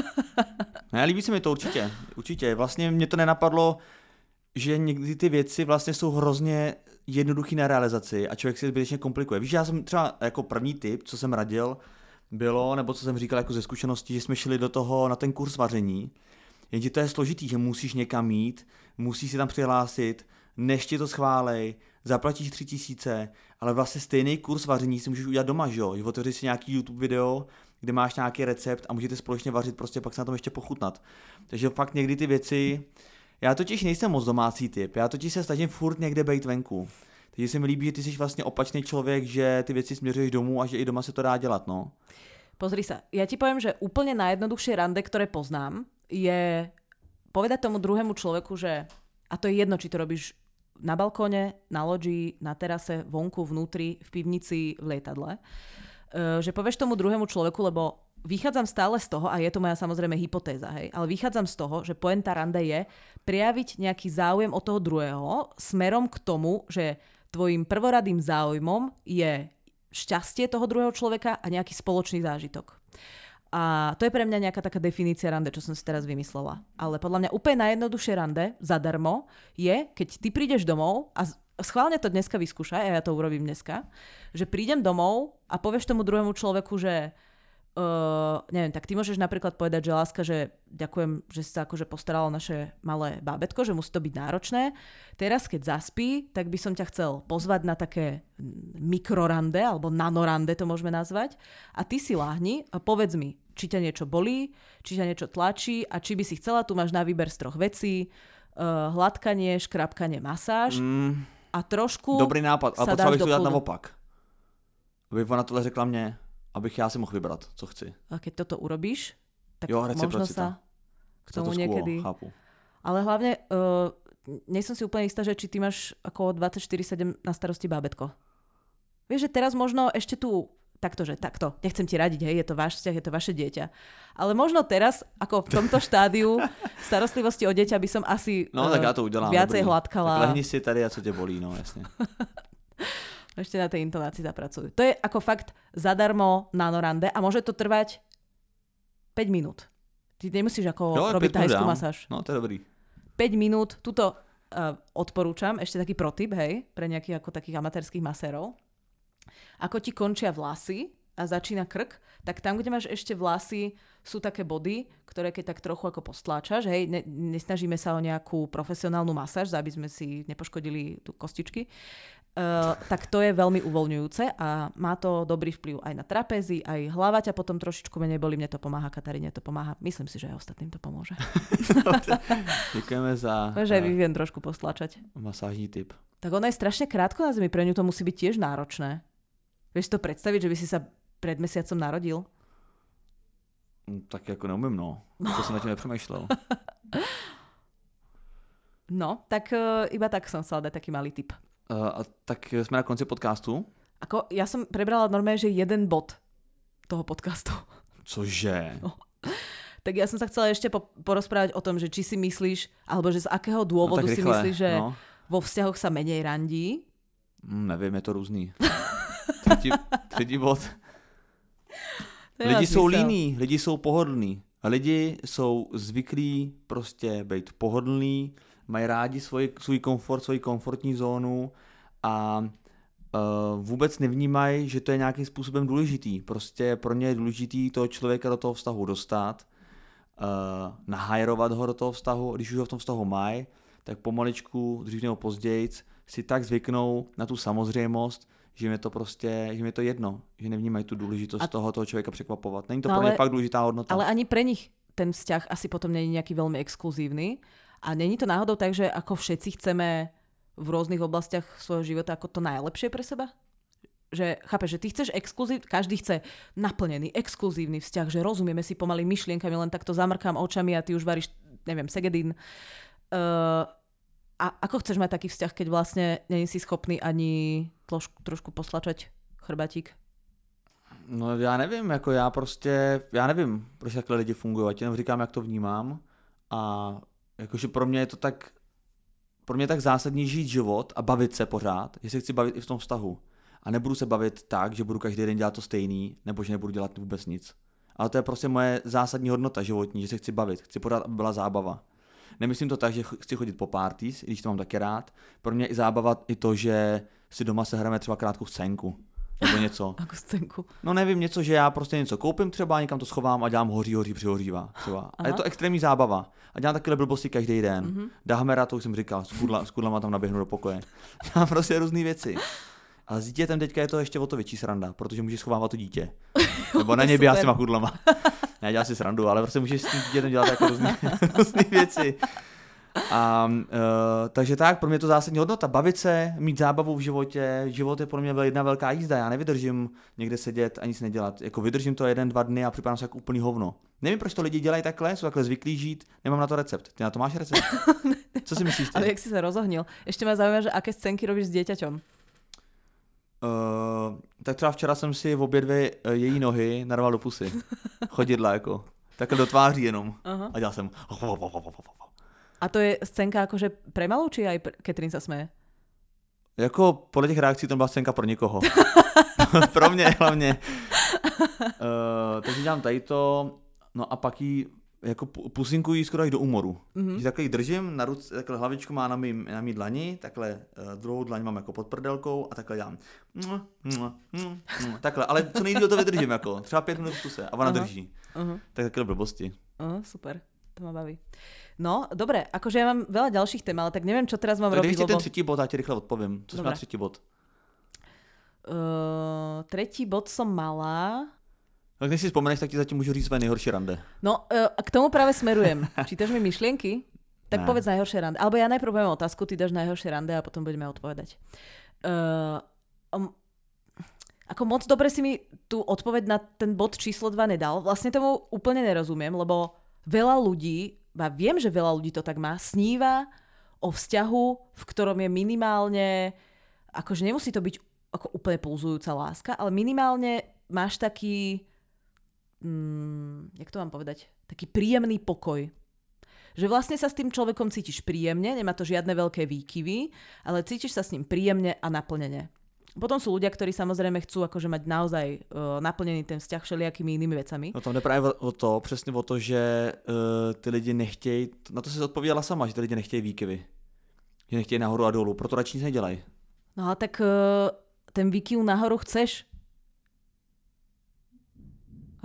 Ne, líbí se mi to určitě, určitě. Vlastně mě to nenapadlo, že někdy ty věci vlastně jsou hrozně jednoduchý na realizaci a člověk si zbytečně komplikuje. Víš, já jsem třeba jako první tip, co jsem radil, bylo, nebo co jsem říkal jako ze zkušenosti, že jsme šli do toho na ten kurz vaření. Jenže to je složitý, že musíš někam jít, musíš si tam přihlásit, než ti to schválej, zaplatíš tři tisíce, ale vlastně stejný kurz vaření si můžeš udělat doma, že jo? Otevři si nějaký YouTube video, kde máš nějaký recept a můžete společně vařit, prostě pak se na tom ještě pochutnat. Takže fakt někdy ty věci, já totiž nejsem moc domácí typ, já totiž se snažím furt někde bejt venku. Takže se mi líbí, že ty jsi vlastně opačný člověk, že ty věci směřuješ domů a že i doma se to dá dělat, no. Pozri sa, ja ti poviem, že úplne najjednoduchšie rande, ktoré poznám, je povedať tomu druhému človeku, že, a to je jedno, či to robíš na balkóne, na loďi, na terase, vonku, vnútri, v pivnici, v lietadle, že povieš tomu druhému človeku, lebo vychádzam stále z toho, a je to moja samozrejme hypotéza, hej, ale vychádzam z toho, že pointa rande je prejaviť nejaký záujem od toho druhého smerom k tomu, že tvojim prvoradým záujmom je šťastie toho druhého človeka a nejaký spoločný zážitok. A to je pre mňa nejaká taká definícia rande, čo som si teraz vymyslela. Ale podľa mňa úplne najjednoduchšie rande, zadarmo, je, keď ty prídeš domov a schválne to dneska vyskúšaj, a ja to urobím dneska, že prídem domov a povieš tomu druhému človeku, že Uh, neviem, tak ty môžeš napríklad povedať, že láska, že ďakujem, že si sa akože postaralo naše malé bábätko, že musí to byť náročné. Teraz, keď zaspí, tak by som ťa chcel pozvať na také mikrorande, alebo nanorande to môžeme nazvať. A ty si láhni a povedz mi, či ťa niečo bolí, či ťa niečo tlačí a či by si chcela, tu máš na výber z troch vecí, uh, hladkanie, škrapkanie, masáž mm, a trošku dobrý nápad, ale potřeba bych to dát naopak. Aby ona tohle řekla mne. Abych já si mohl vybrat, co chci. A keď toto urobíš, tak jo, možno sa k tomu to niekedy... Chápu. Ale hlavne, uh, nie som si úplne istá, že či ty máš ako dvadsaťštyri sedem na starosti bábätko. Vieš, že teraz možno ešte tu, takto, že takto, nechcem ti radiť, hej, je to váš vzťah, je to vaše dieťa. Ale možno teraz, ako v tomto štádiu starostlivosti o dieťa by som asi no, uh, tak ja to udelám, viacej dobrý. Hladkala. Tak lehni si tady a co ťa bolí, no jasne. Ešte na tej intonácii zapracujú. To je ako fakt zadarmo nanorande a môže to trvať päť minút. Ty nemusíš ako jo, robiť thajskú masáž. No, to je dobrý. päť minút, tuto uh, odporúčam, ešte taký protip, hej, pre nejakých ako takých amatérských masérov. Ako ti končia vlasy a začína krk, tak tam, kde máš ešte vlasy, sú také body, ktoré keď tak trochu ako postláčaš, hej, ne, nesnažíme sa o nejakú profesionálnu masáž, aby sme si nepoškodili tu kostičky, uh, tak to je veľmi uvoľňujúce a má to dobrý vplyv aj na trapézy, aj hlava ťa potom trošičku menej bolí, mne to pomáha, Kataríne to pomáha, myslím si, že aj ostatným to pomôže. Ďakujeme za... Môže aj Vivien trošku postláčať. Masážní tip. Tak ona je strašne krátko na zemi, pre ňu to musí byť tiež náročné. Vieš to predstaviť, že by si sa pred mesiacom narodil? Tak jako neumím, no. To jsem na tím nepřemýšlel. No, tak uh, iba tak som chcela dať taký malý tip. Uh, a tak jsme na konci podcastu. Ako, ja som prebrala normálne, že jeden bod toho podcastu. Cože? No. Tak ja som sa chcela ešte po- porozprávať o tom, že či si myslíš, alebo že z akého dôvodu no, si myslíš, že no. vo vzťahoch sa menej randí? Mm, nevím, je to různý. Třetí, třetí bod. Lidi jsou líní, lidi jsou pohodlní. A lidi jsou zvyklí prostě být pohodlní, mají rádi svoj, svůj komfort, svoji komfortní zónu a uh, vůbec nevnímají, že to je nějakým způsobem důležitý. Prostě pro ně je důležitý toho člověka do toho vztahu dostat, uh, nahajrovat ho do toho vztahu, když už ho v tom vztahu mají, tak pomaličku, dřív nebo později, si tak zvyknou na tu samozřejmost, že mi to prostě, že mi to jedno, že nevnímají tu důležitost a... toho, toho člověka překvapovat. Není to no, pro ně fakt důležitá hodnota. Ale ani pre nich ten vzťah asi potom není nejaký veľmi exkluzívny a není to náhodou tak, že ako všetci chceme v rôznych oblastiach svojho života ako to najlepšie pre seba? Že chápeš, že ty chceš exkluzív, každý chce naplnený, exkluzívny vzťah, že rozumieme si pomaly myšlienkami, len takto zamrkám očami a ty už varíš, neviem, segedín. Uh, A ako chceš mať taký vzťah, keď vlastne nie si schopný ani trošku, trošku poslačať chrbatík? No já nevím, jako já prostě, já nevím, proč takhle lidi fungují, já ti jenom říkám, jak to vnímám a jakože pro mě je to tak, pro mě je tak zásadní žít život a bavit se pořád, že se chci bavit i v tom vztahu a nebudu se bavit tak, že budu každý den dělat to stejný, nebo že nebudu dělat vůbec nic. Ale to je prostě moje zásadní hodnota životní, že se chci bavit, chci pořád, aby byla zábava. Nemyslím to tak, že chci chodit po parties, když to mám taky rád. Pro mě je i zábava i to, že si doma sehrajeme třeba krátkou scénku. Nebo něco. Jako scénku? No nevím, něco, že já prostě něco koupím třeba, někam to schovám a dělám hoří, hoří, přihořívá. Třeba. A je to extrémní zábava. A dělám takové blbosti každý den. Mm-hmm. Dahmera, to už jsem říkal, s, kudla, s kudlama tam naběhnu do pokoje. Dělám prostě různé věci. A s dítětem teďka je to ještě o to větší sranda, protože můžeš schovávat to dítě. Nebo na něj běhat s těma kudlama. Ne, dělám si srandu, ale prostě můžeš s tím dítětem dělat jako různé věci. A, uh, takže tak, pro mě je to zásadní hodnota. Bavit se, mít zábavu v životě. Život je pro mě jedna velká jízda. Já nevydržím někde sedět a nic nedělat. Jako vydržím to jeden, dva dny a připadám se jako úplný hovno. Nevím, proč to lidi dělají takhle, jsou takhle zvyklí žít. Nemám na to recept. Ty na to máš recept? Co si myslíš ty? Ale jak si se rozohnil? Ještě mě zajímá, že aké scénky robíš s dieťaťom? Uh, tak třeba včera jsem si v obě dvě uh, její nohy narval do pusy. Chodidla jako. Takhle do tváří jenom. Uh-huh. A dělal jsem... A to je scénka akože pre malou, či aj Katrin sa smeje? Jako podle těch reakcí to byla scénka pro někoho. Pro mě hlavně. Uh, takže dělám tady to, no a pak jí jako pusinkují skoro až do úmoru. Mm-hmm. Že takhle ji držím, na ruce, takhle hlavičku má na mý, na mý dlani, takhle uh, druhou dlaň mám jako pod prdelkou a takhle dělám. Mua, mua, mua, mua, takhle, ale co nejdýl to vydržím, jako třeba pět minut v kuse a ona uh-huh. drží. Uh-huh. Tak takhle blbosti. Uh, super, to ma baví. No, dobre, akože ja mám veľa ďalších tém, ale tak neviem, čo teraz mám tak robiť, lebo... ten třetí bod, já ti rychle odpovím. Co jsme na třetí bod? Uh, tretí bod som mala... Tak než si vzpomeneš, tak ti zatím můžu říct své nejhorší rande. No, uh, k tomu práve smerujem. Čítaš mi myšlienky? Tak ne. Povedz najhoršie rande. Alebo ja najprv poviem otázku, ty dáš najhoršie rande a potom budeme odpovedať. Uh, um, ako moc dobre si mi tú odpoveď na ten bod číslo dva nedal. Vlastne tomu úplne nerozumiem, lebo veľa ľudí, a viem, že veľa ľudí to tak má, sníva o vzťahu, v ktorom je minimálne, akože nemusí to byť ako úplne pulzujúca láska, ale minimálne máš taký, mm, jak to mám povedať, taký príjemný pokoj. Že vlastne sa s tým človekom cítiš príjemne, nemá to žiadne veľké výkyvy, ale cítiš sa s ním príjemne a naplnene. Potom sú ľudia, ktorí samozrejme chcú akože mať naozaj uh, naplnený ten vzťah všelijakými inými vecami. No tam jde právě o to, přesně o to, že uh, ty lidi nechtějí, na to si odpověděla sama, že ty lidi nechtějí výkyvy. Že nechtějí nahoru a dolů, proto radši nic nedělají. No ale tak uh, ten výkyv nahoru chceš.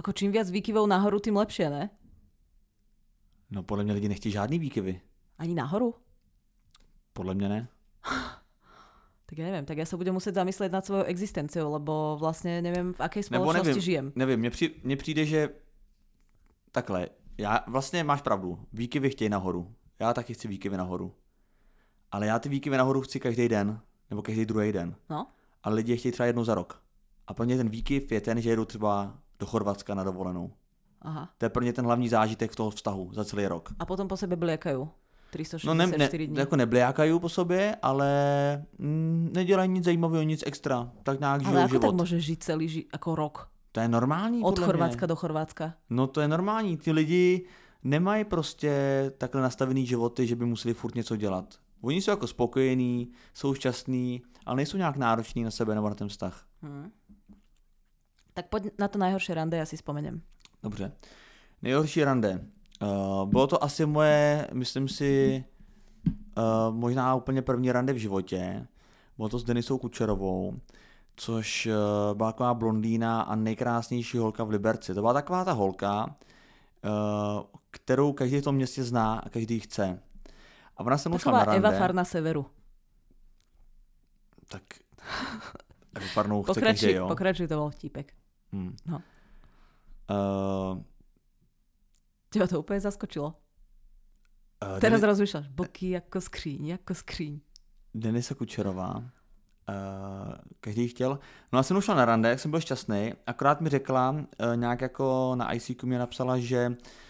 Ako čím viac výkyvov nahoru, tým lepšie, ne? No podle mě lidi nechtějí žádný výkyvy. Ani nahoru? Podle mě ne. Tak ja neviem, tak ja sa budem musieť zamyslieť nad svojou existenciou, lebo vlastne neviem, v akej spoločnosti nevím, žijem. Nevím, mně, při, mně přijde, že takhle, já vlastně máš pravdu, výkyvy chtějí nahoru. Já taky chci výkyvy nahoru. Ale já ty výkyvy nahoru chci každý den, nebo každý druhý den. No? Ale lidi je chtějí třeba jednou za rok. A pro mě ten výkyv je ten, že jedu třeba do Chorvatska na dovolenou. Aha. To je pro mě ten hlavní zážitek v toho vztahu za celý rok. A potom po sebe bliekajú. tristo šesťdesiat No ne, ne, dní. jako nebliákají po sobě, ale mm, nedělají nic zajímavého, nic extra. Tak nějak žijou ale ako život. tak môže žiť celý ži- ako rok? To je normální. Od podle Chorvátska mě. do Chorvátska. No to je normální. Ty lidi nemají prostě takhle nastavený životy, že by museli furt něco dělat. Oni jsou jako spokojení, jsou šťastní, ale nejsou nějak nároční na sebe nebo na ten vztah. Hmm. Tak poď na to najhoršie rande, ja si spomeniem. Dobře. Nejhorší rande. Uh, bylo to asi moje, myslím si, uh, možná úplně první rande v životě. Bylo to s Denisou Kučerovou, což uh, byla taková blondýna a nejkrásnější holka v Liberci. To byla taková ta holka, uh, kterou každý v tom městě zná a každý chce. A ona se mnou šla na rande. Eva Farna Severu. Tak Evu Farnou chce Pokračuj, každý, jo? pokračuj, to bol vtipek. Hmm. No. Uh, Teba to úplne zaskočilo. uh, Teraz Denis- rozmýšľaš, boky ako skříň, ako skříň. Denisa Kučerová. Uh, každý chtěl. No a jsem šla na rande, jak jsem byl šťastný, akorát mi řekla, uh, nějak jako na í cé kú mi napsala, že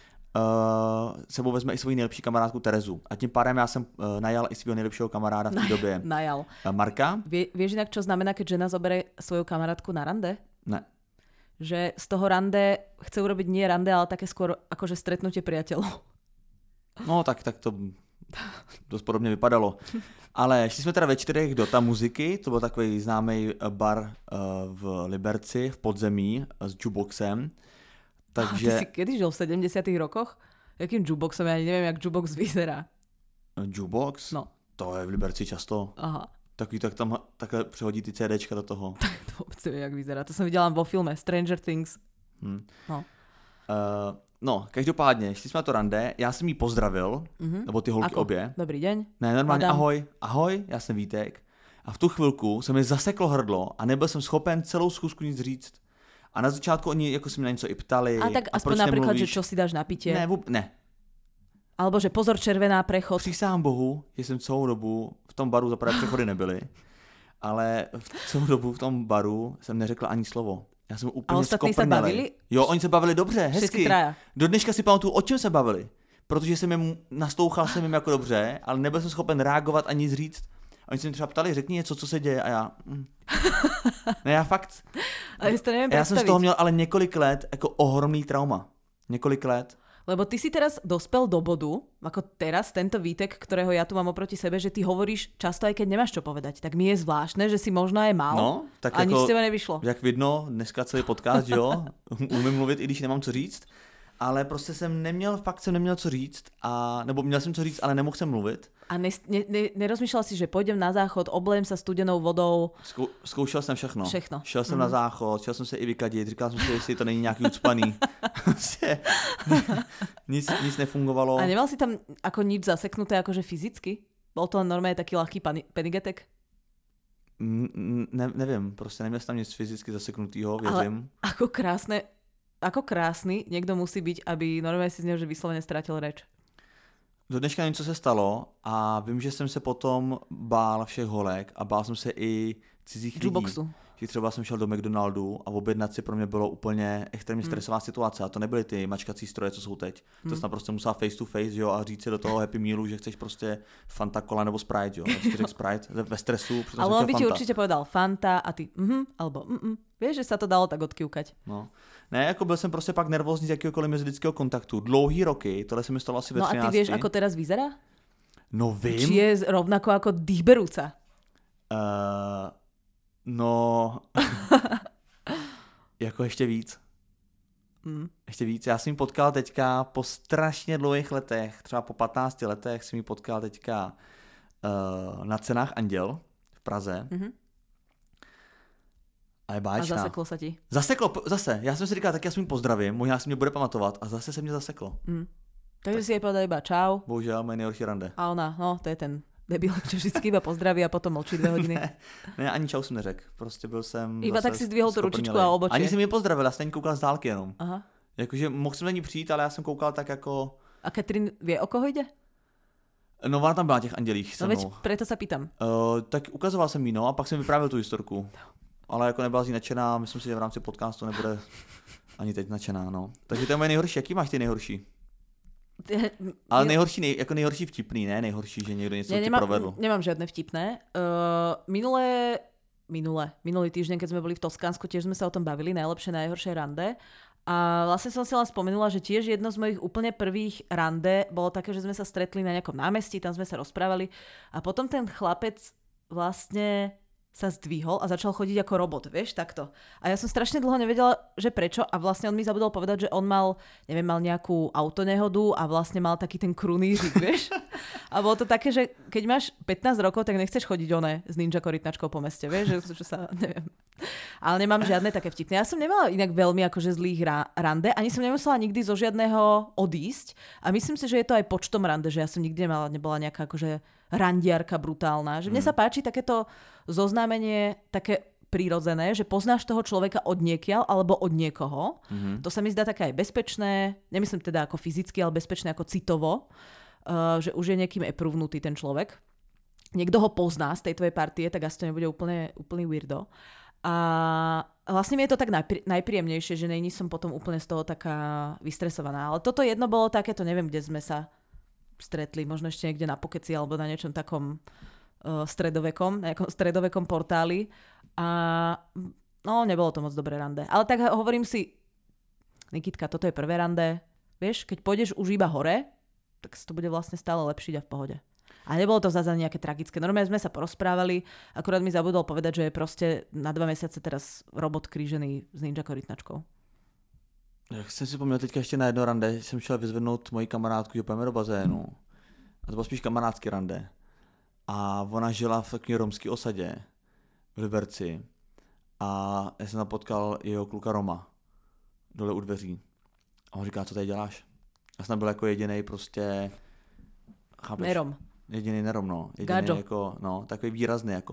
uh, sebou vezme i svoji nejlepší kamarádku Terezu. A tím pádem já jsem uh, najal i svého nejlepšího kamaráda v té době. Najal. Uh, Marka? Vie, vieš inak, čo znamená, keď žena zoberie svoju kamarátku na rande? Ne. Že z toho rande chce urobiť nie rande, ale také skôr akože stretnutie priateľov. No tak, tak to dost podobně vypadalo. Ale šli jsme teda ve čtyřech do Ta muziky, to byl takový známý bar uh, v Liberci, v podzemí, s jukeboxem. Takže... Ty si kedy žil v sedemdesiatych rokoch? Jakým jukeboxom? Ja neviem, jak jukebox vyzerá. Jukebox? No. To je v Liberci často. Aha. Takový, tak tam takhle přehodí ty CDčka do toho. To vôbec neviem, jak vyzerá. To som videla vo filme Stranger Things. Hmm. No. Uh, no, každopádně, šli jsme na to rande, já jsem jí pozdravil, Mm-hmm. nebo ty holky Ako? obě. Dobrý deň. Ne, normálně Madame. ahoj, ahoj, já jsem Vítek. A v tu chvilku se mi zaseklo hrdlo a nebyl jsem schopen celou schůzku nic říct. A na začátku oni jako se mi na něco i ptali. A tak a aspoň proč napríklad, nemluvíš? že čo si dáš na pitie. Ne, vůb... ne. Alebo že pozor, červená prechod. Přísahám Bohu, že jsem celou dobu v tom baru, za prvé přechody nebyly, ale v celou dobu v tom baru jsem neřekl ani slovo. Já jsem úplně A ostatní se skoprnelej. bavili? Jo, oni se bavili dobře, Všetci hezky. traja. Do dneška si pamatuju, o čem se bavili. Protože jsem jim nastouchal jsem jim jako dobře, ale nebyl jsem schopen reagovat ani nic říct. A oni se mi třeba ptali, řekni něco, co se děje. A já... Mm. Ne, já fakt... Ale ja si to neviem Já jsem z predstaviť. toho měl ale několik let jako ohromný trauma. Několik let. Lebo ty si teraz dospel do bodu, ako teraz tento Vítek, ktorého ja tu mám oproti sebe, že ty hovoríš často, aj keď nemáš čo povedať. Tak mi je zvláštne, že si možno aj mal No, tak a jako, nič z teba nevyšlo. Jak vidno, dneska celý podcast, že jo, umím mluvit, i když nemám co říct, ale prostě jsem neměl, fakt jsem neměl co říct, a, nebo měl jsem co říct, ale nemohl jsem mluvit. A ne, ne, ne, nerozmýšľal si, že pôjdem na záchod, oblejem sa studenou vodou. Zkou, zkoušel jsem všechno. Všechno. Šel jsem Mhm. na záchod, šel jsem se i vykadit, říkal jsem si, jestli to není nějaký ucpaný. Prostě nic, nic nefungovalo. A nemal si tam ako nič zaseknuté, akože fyzicky? Bol to len normálne taký ľahký pani- penigetek? Mm, Ne, nevím, prostě neměl jsem tam nic fyzicky zaseknutýho, věřím. Ale ako krásne, ako krásny niekto musí byť, aby normálne si z neho že vyslovene stratil reč. Do dneška nevím, co se stalo, a vím, že jsem se potom bál všech holek a bál jsem se i cizích lidí. Jukeboxu. Že třeba jsem šel do McDonaldu a objednat si pro mě bylo úplně extrémně Hmm. stresová situace. A to nebyly ty mačkací stroje, co jsou teď. To Hmm. jsi naprosto musela face to face, jo, a říct si do toho Happy Mealu, že chceš prostě Fanta Cola nebo Sprite, jo. A ty řekl Sprite ve stresu, přitom Ale jsem on by chtěl ti Fanta. určite povedal Fanta a ty mhm, alebo mhm. Vieš, že sa to dalo tak odkývkať. No. Ne, jako byl jsem prostě pak nervózní z jakýhokoliv mezilidského kontaktu. Dlouhý roky, tohle se mi stalo asi ve No a ty třinácti. vieš, ako teraz vyzerá? No vím. Či je rovnako ako dýchberúca? Uh, no, jako ještě víc. Mm. Ještě víc. Já jsem ji potkal teďka po strašně dlouhých letech, třeba po patnácti letech jsem ji potkal teďka uh, na cenách Anděl v Praze. Mm-hmm. A je báječná. A zaseklo sa ti. Zaseklo, zase. Já jsem si říkal, tak já si mi pozdravím, možná si mě bude pamatovat a zase se mě zaseklo. Mm. Takže tak si jej povedal iba čau. Bohužel, moje nejhorší rande. A ona, no to je ten debil, čo vždycky iba pozdraví a potom mlčí dvě hodiny. ne, ne, ani čau jsem neřekl. Prostě byl jsem iba tak si zdvihol tu ručičku a obočí. Ani jsem mě pozdravil, já jsem koukal z dálky jenom. Aha. Jakože mohl jsem na ní přijít, ale já jsem koukal tak jako... A Katrin vie, o koho jde? No ona tam byla těch andělích se mnou. No veď preto sa pýtam. Uh, tak ukazoval jsem jí, no, a pak jsem vyprávěl tu historku. Ale jako nebyla z ní nadšená, myslím si, že v rámci podcastu nebude ani teď nadšená, no. Takže to je moje nejhorší. Jaký máš ty nejhorší? Ale nejhorší, nej, jako nejhorší vtipný, ne nejhorší, že někdo něco ne, ti provedl. Nemám žiadne vtipné. Uh, minulé, minulé, minulý týždeň, keď sme boli v Toskánsku, tiež sme sa o tom bavili, najlepšie, najhoršie rande. A vlastne som si len spomenula, že tiež jedno z mojich úplne prvých rande bolo také, že sme sa stretli na nejakom námestí, tam sme sa rozprávali a potom ten chlapec vlastne sa zdvihol a začal chodiť ako robot, vieš, takto. A ja som strašne dlho nevedela, že prečo a vlastne on mi zabudol povedať, že on mal, neviem, mal nejakú autonehodu a vlastne mal taký ten krunížik, vieš. A bolo to také, že keď máš pätnásť rokov, tak nechceš chodiť oné s ninja korytnačkou po meste, vieš, že, že sa, neviem. Ale nemám žiadne také vtipné. Ja som nemala inak veľmi akože zlých ra- rande, ani som nemusela nikdy zo žiadneho odísť a myslím si, že je to aj počtom rande, že ja som nikdy nemala, nebola nejaká akože randiarka brutálna. Že mne sa páči takéto zoznámenie také prírodzené, že poznáš toho človeka od niekiaľ alebo od niekoho. Mm-hmm. To sa mi zdá také aj bezpečné, nemyslím teda ako fyzicky, ale bezpečné ako citovo, uh, že už je niekým epruvnutý ten človek. Niekto ho pozná z tej tvojej partie, tak asi to nebude úplne, úplný weirdo. A vlastne mi je to tak najprí, najpríjemnejšie, že nejní som potom úplne z toho taká vystresovaná. Ale toto jedno bolo takéto, neviem, kde sme sa stretli, možno ešte niekde na Pokeci alebo na niečom takom uh, stredovekom, na nejakom stredovekom portáli a no, nebolo to moc dobré rande. Ale tak hovorím si, Nikitka, toto je prvé rande, vieš, keď pôjdeš už iba hore, tak to bude vlastne stále lepšiť a v pohode. A nebolo to zase nejaké tragické. Normálne sme sa porozprávali, akurát mi zabudol povedať, že je proste na dva mesiace teraz robot krížený s ninja korytnačkou. Jak jsem si pomněl teďka ještě na jedno rande, jsem šel vyzvednout moji kamarádku, že pojeme do bazénu. A to bylo spíš kamarádský rande. A ona žila v takové romské osadě v Liberci. A já jsem tam potkal jeho kluka Roma dole u dveří. A on říká, co tady děláš? Já jsem tam byl jako jedinej prostě... Chápeš? Nerom. Jedinej nerom, no. Jedinej jako, no, takový výrazný jako.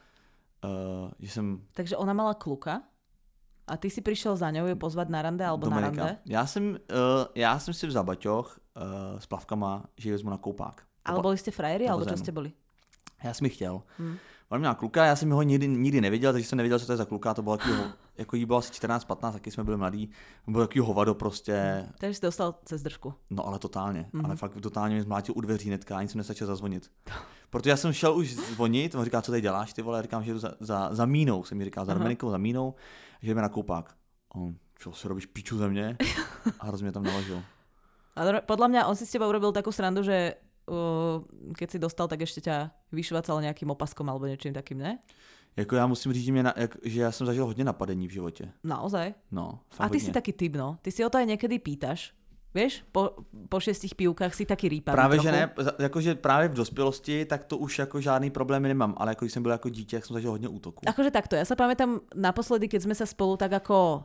Uh, že jsem... Takže ona mala kluka? A ty si přišel za ňou je pozvat na rande alebo Dominika. Na rande? Já jsem, uh, já jsem si vzal baťoch uh, s plavkama, že ji vezmu na koupák. Ale byli jste frajeri, alebo čo jste byli? Já jsem ji chtěl. Hmm. On měl kluka, já jsem ho nikdy, nikdy neviděl, takže jsem nevěděl, co to je za kluka. To bylo takový, jako jí bylo asi čtrnáct patnáct, taky jsme byli mladí. Byl takový hovado prostě. Takže jsi dostal cez držku. No ale totálně, mm-hmm. ale fakt totálně mě zmlátil u dveří hnedka, ani jsem nestačil zazvonit. Protože já jsem šel už zvonit, on říká, co tady děláš, ty vole, já říkám, že jdu za, za, za mínou, jsem mi říkal, za Dominikou, za mínou, že jdeme na koupák. On, čo si robíš piču ze mě? A hrozně mě tam naložil. Ale podľa mňa on si s teba urobil takú srandu, že uh, keď si dostal, tak ešte ťa vyšvacal nejakým opaskom alebo niečím takým, ne? Jako já musím říct, že, mě na, jak, že já jsem zažil hodně napadení v životě. Naozaj? No, fakt A ty hodně. Si taký typ, no. Ty si o to aj niekedy pýtaš. Vieš, po, po šestich pivkách si taky rýpavý Právě, trochu. že ne, jakože právě v dospělosti, tak to už jako žádný problémy nemám, ale jako když jsem byl jako dítě, tak jsem zažil hodně útoků. Akože takto, ja sa pamätám naposledy, keď sme sa spolu tak ako,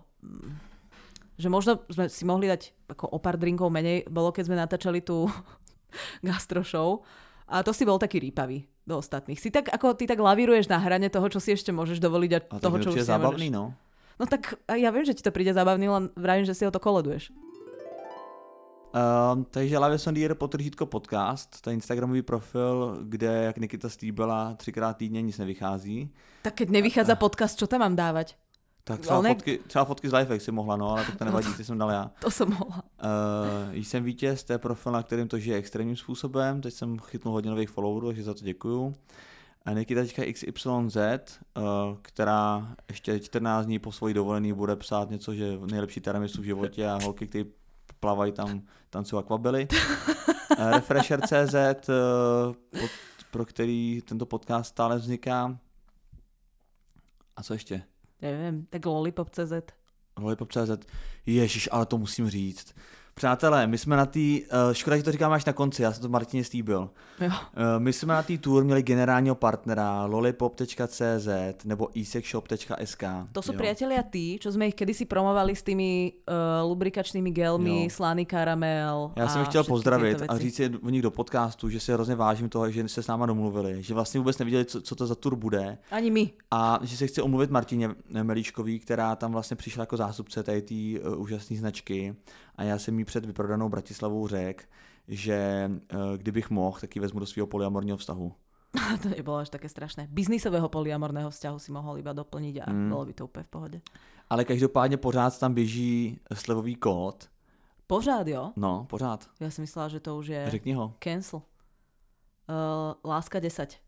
že možno sme si mohli dať ako o pár drinkov menej, bolo keď sme natáčali tú gastro show a to si bol taký rýpavý do ostatných. Si tak, ako ty tak lavíruješ na hrane toho, čo si ešte môžeš dovoliť a, a toho, čo už si zábavný, no. No tak ja viem, že ti to príde zábavný, len vravím, že si o to koleduješ. Um, takže Laves on the Air potržítko podcast, to je instagramový profil, kde, jak Nikita slíbila, třikrát týdně nic nevychází. Tak keď nevychádza podcast, čo tam mám dávať? Tak třeba, ne... fotky, třeba fotky z Lifehack si mohla, no, ale tak to nevadí, ty jsem dal já. To jsem mohla. Uh, jsem vítěz, to je profil, na kterým to žije extrémním způsobem, teď jsem chytnul hodně nových followerů, takže za to děkuju. A Nikitačka iks ypsilon zet, uh, která ještě čtrnáct dní po svojí dovolený bude psát něco, že nejlepší tiramisu v životě a holky, který plavají tam, tancují akvabily. uh, Refresher tečka cé zet, uh, pod, pro který tento podcast stále vzniká. A co ještě? Nevím, tak Lollipop tečka cé zet. Lollipop tečka cé zet. Ježiš, ale to musím říct. Přátelé, my jsme na té, uh, škoda, že to říkám až na konci, já jsem to Martině slíbil. Jo. Uh, my jsme na té tour měli generálního partnera lollipop tečka cé zet nebo esexshop tečka es ká. To sú jo. priatelia tí, čo sme ich kedysi promovali s tými uh, lubrikačnými gelmi, Jo. slaný karamel. Já jsem a je chtěl všetky pozdravit tieto a veci. říct si o nich do podcastu, že si hrozně vážím toho, že se s náma domluvili, že vlastně vůbec nevěděli, co, co to za tour bude. Ani my. A že se chci omluvit Martině Melíčkový, která tam vlastně přišla jako zástupce tady té uh, úžasné značky. A já jsem jí před vyprodanou Bratislavou řekl, že uh, kdybych mohl, tak ji vezmu do svého polyamorního vztahu. To nebolo až také strašné. Biznisového polyamorného vzťahu si mohol iba doplniť a Mm. bolo by to úplne v pohode. Ale každopádně pořád tam běží slevový kód. Pořád, jo? No, pořád. Ja si myslela, že to už je Řekni ho. cancel. Uh, láska desať.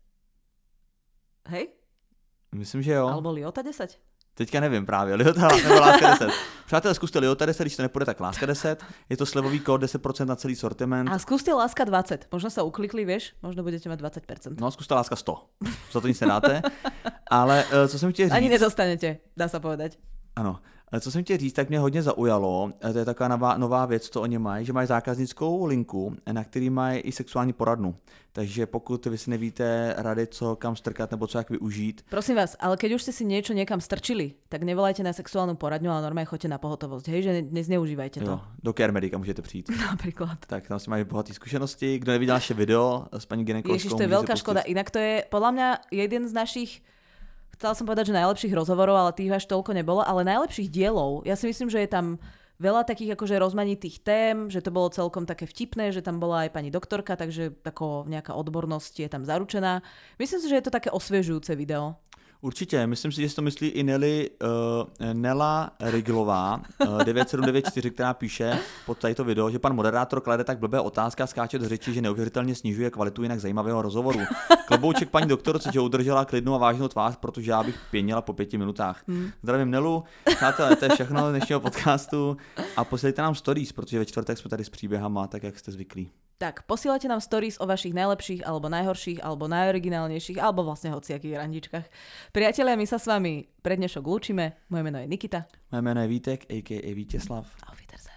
Hej? Myslím, že jo. Alebo Liota desať? Teďka nevím právě, Liota nebo Láska deset. Přátelé, zkuste Liota deset, když to nepůjde, tak Láska deset. Je to slevový kód deset procent na celý sortiment. A skúste Láska dvadsať. Možno sa uklikli, vieš? Možno budete mať dvadsať percent. No, zkuste Láska sto. Za to nic nedáte. Ale uh, co jsem chtěl říct... Ani nedostanete, dá sa povedať. Ano. Ale co jsem chtěl říct, tak mě hodně zaujalo, to je taková nová, nová věc, co oni mají, že mají zákaznickou linku, na který mají i sexuální poradnu. Takže pokud vy si nevíte rady, co kam strkat nebo co jak využít. Prosím vás, ale keď už ste si niečo niekam strčili, tak nevolajte na sexuálnu poradňu, ale normálne choďte na pohotovosť. Hej, že ne, nezneužívajte to. Jo, do Care Medica můžete přijít. Napríklad. Tak tam si mají bohaté zkušenosti. Kdo neviděl naše video s paní gynekologkou, Ježiš, to je veľká škoda. Inak to je podľa mňa jeden z našich, chcela som povedať, že najlepších rozhovorov, ale tých až toľko nebolo, ale najlepších dielov. Ja si myslím, že je tam veľa takých akože rozmanitých tém, že to bolo celkom také vtipné, že tam bola aj pani doktorka, takže tako nejaká odbornosť je tam zaručená. Myslím si, že je to také osviežujúce video. Určitě, myslím si, že si to myslí i Nelly, uh, Nela Riglová, uh, devět sedm devět čtyři, která píše pod tato video, že pan moderátor klade tak blbé otázky a skáče do řeči, že neuvěřitelně snižuje kvalitu jinak zajímavého rozhovoru. Klobouček paní doktorce, že udržela klidnou a vážnou tvář, protože já bych pěnila po pěti minutách. Hmm. Zdravím Nelu, přátelé, to je všechno z dnešního podcastu a posílejte nám stories, protože ve čtvrtek jsme tady s příběhama, tak jak jste zvyklí. Tak, posielajte nám stories o vašich najlepších, alebo najhorších, alebo najoriginálnejších, alebo vlastne hociakých randičkách. Priatelia, my sa s vami pre dnešok lúčime. Moje meno je Nikita. Moje jméno je Vítek, a ká a. Vítězslav. Auf Wiedersehen.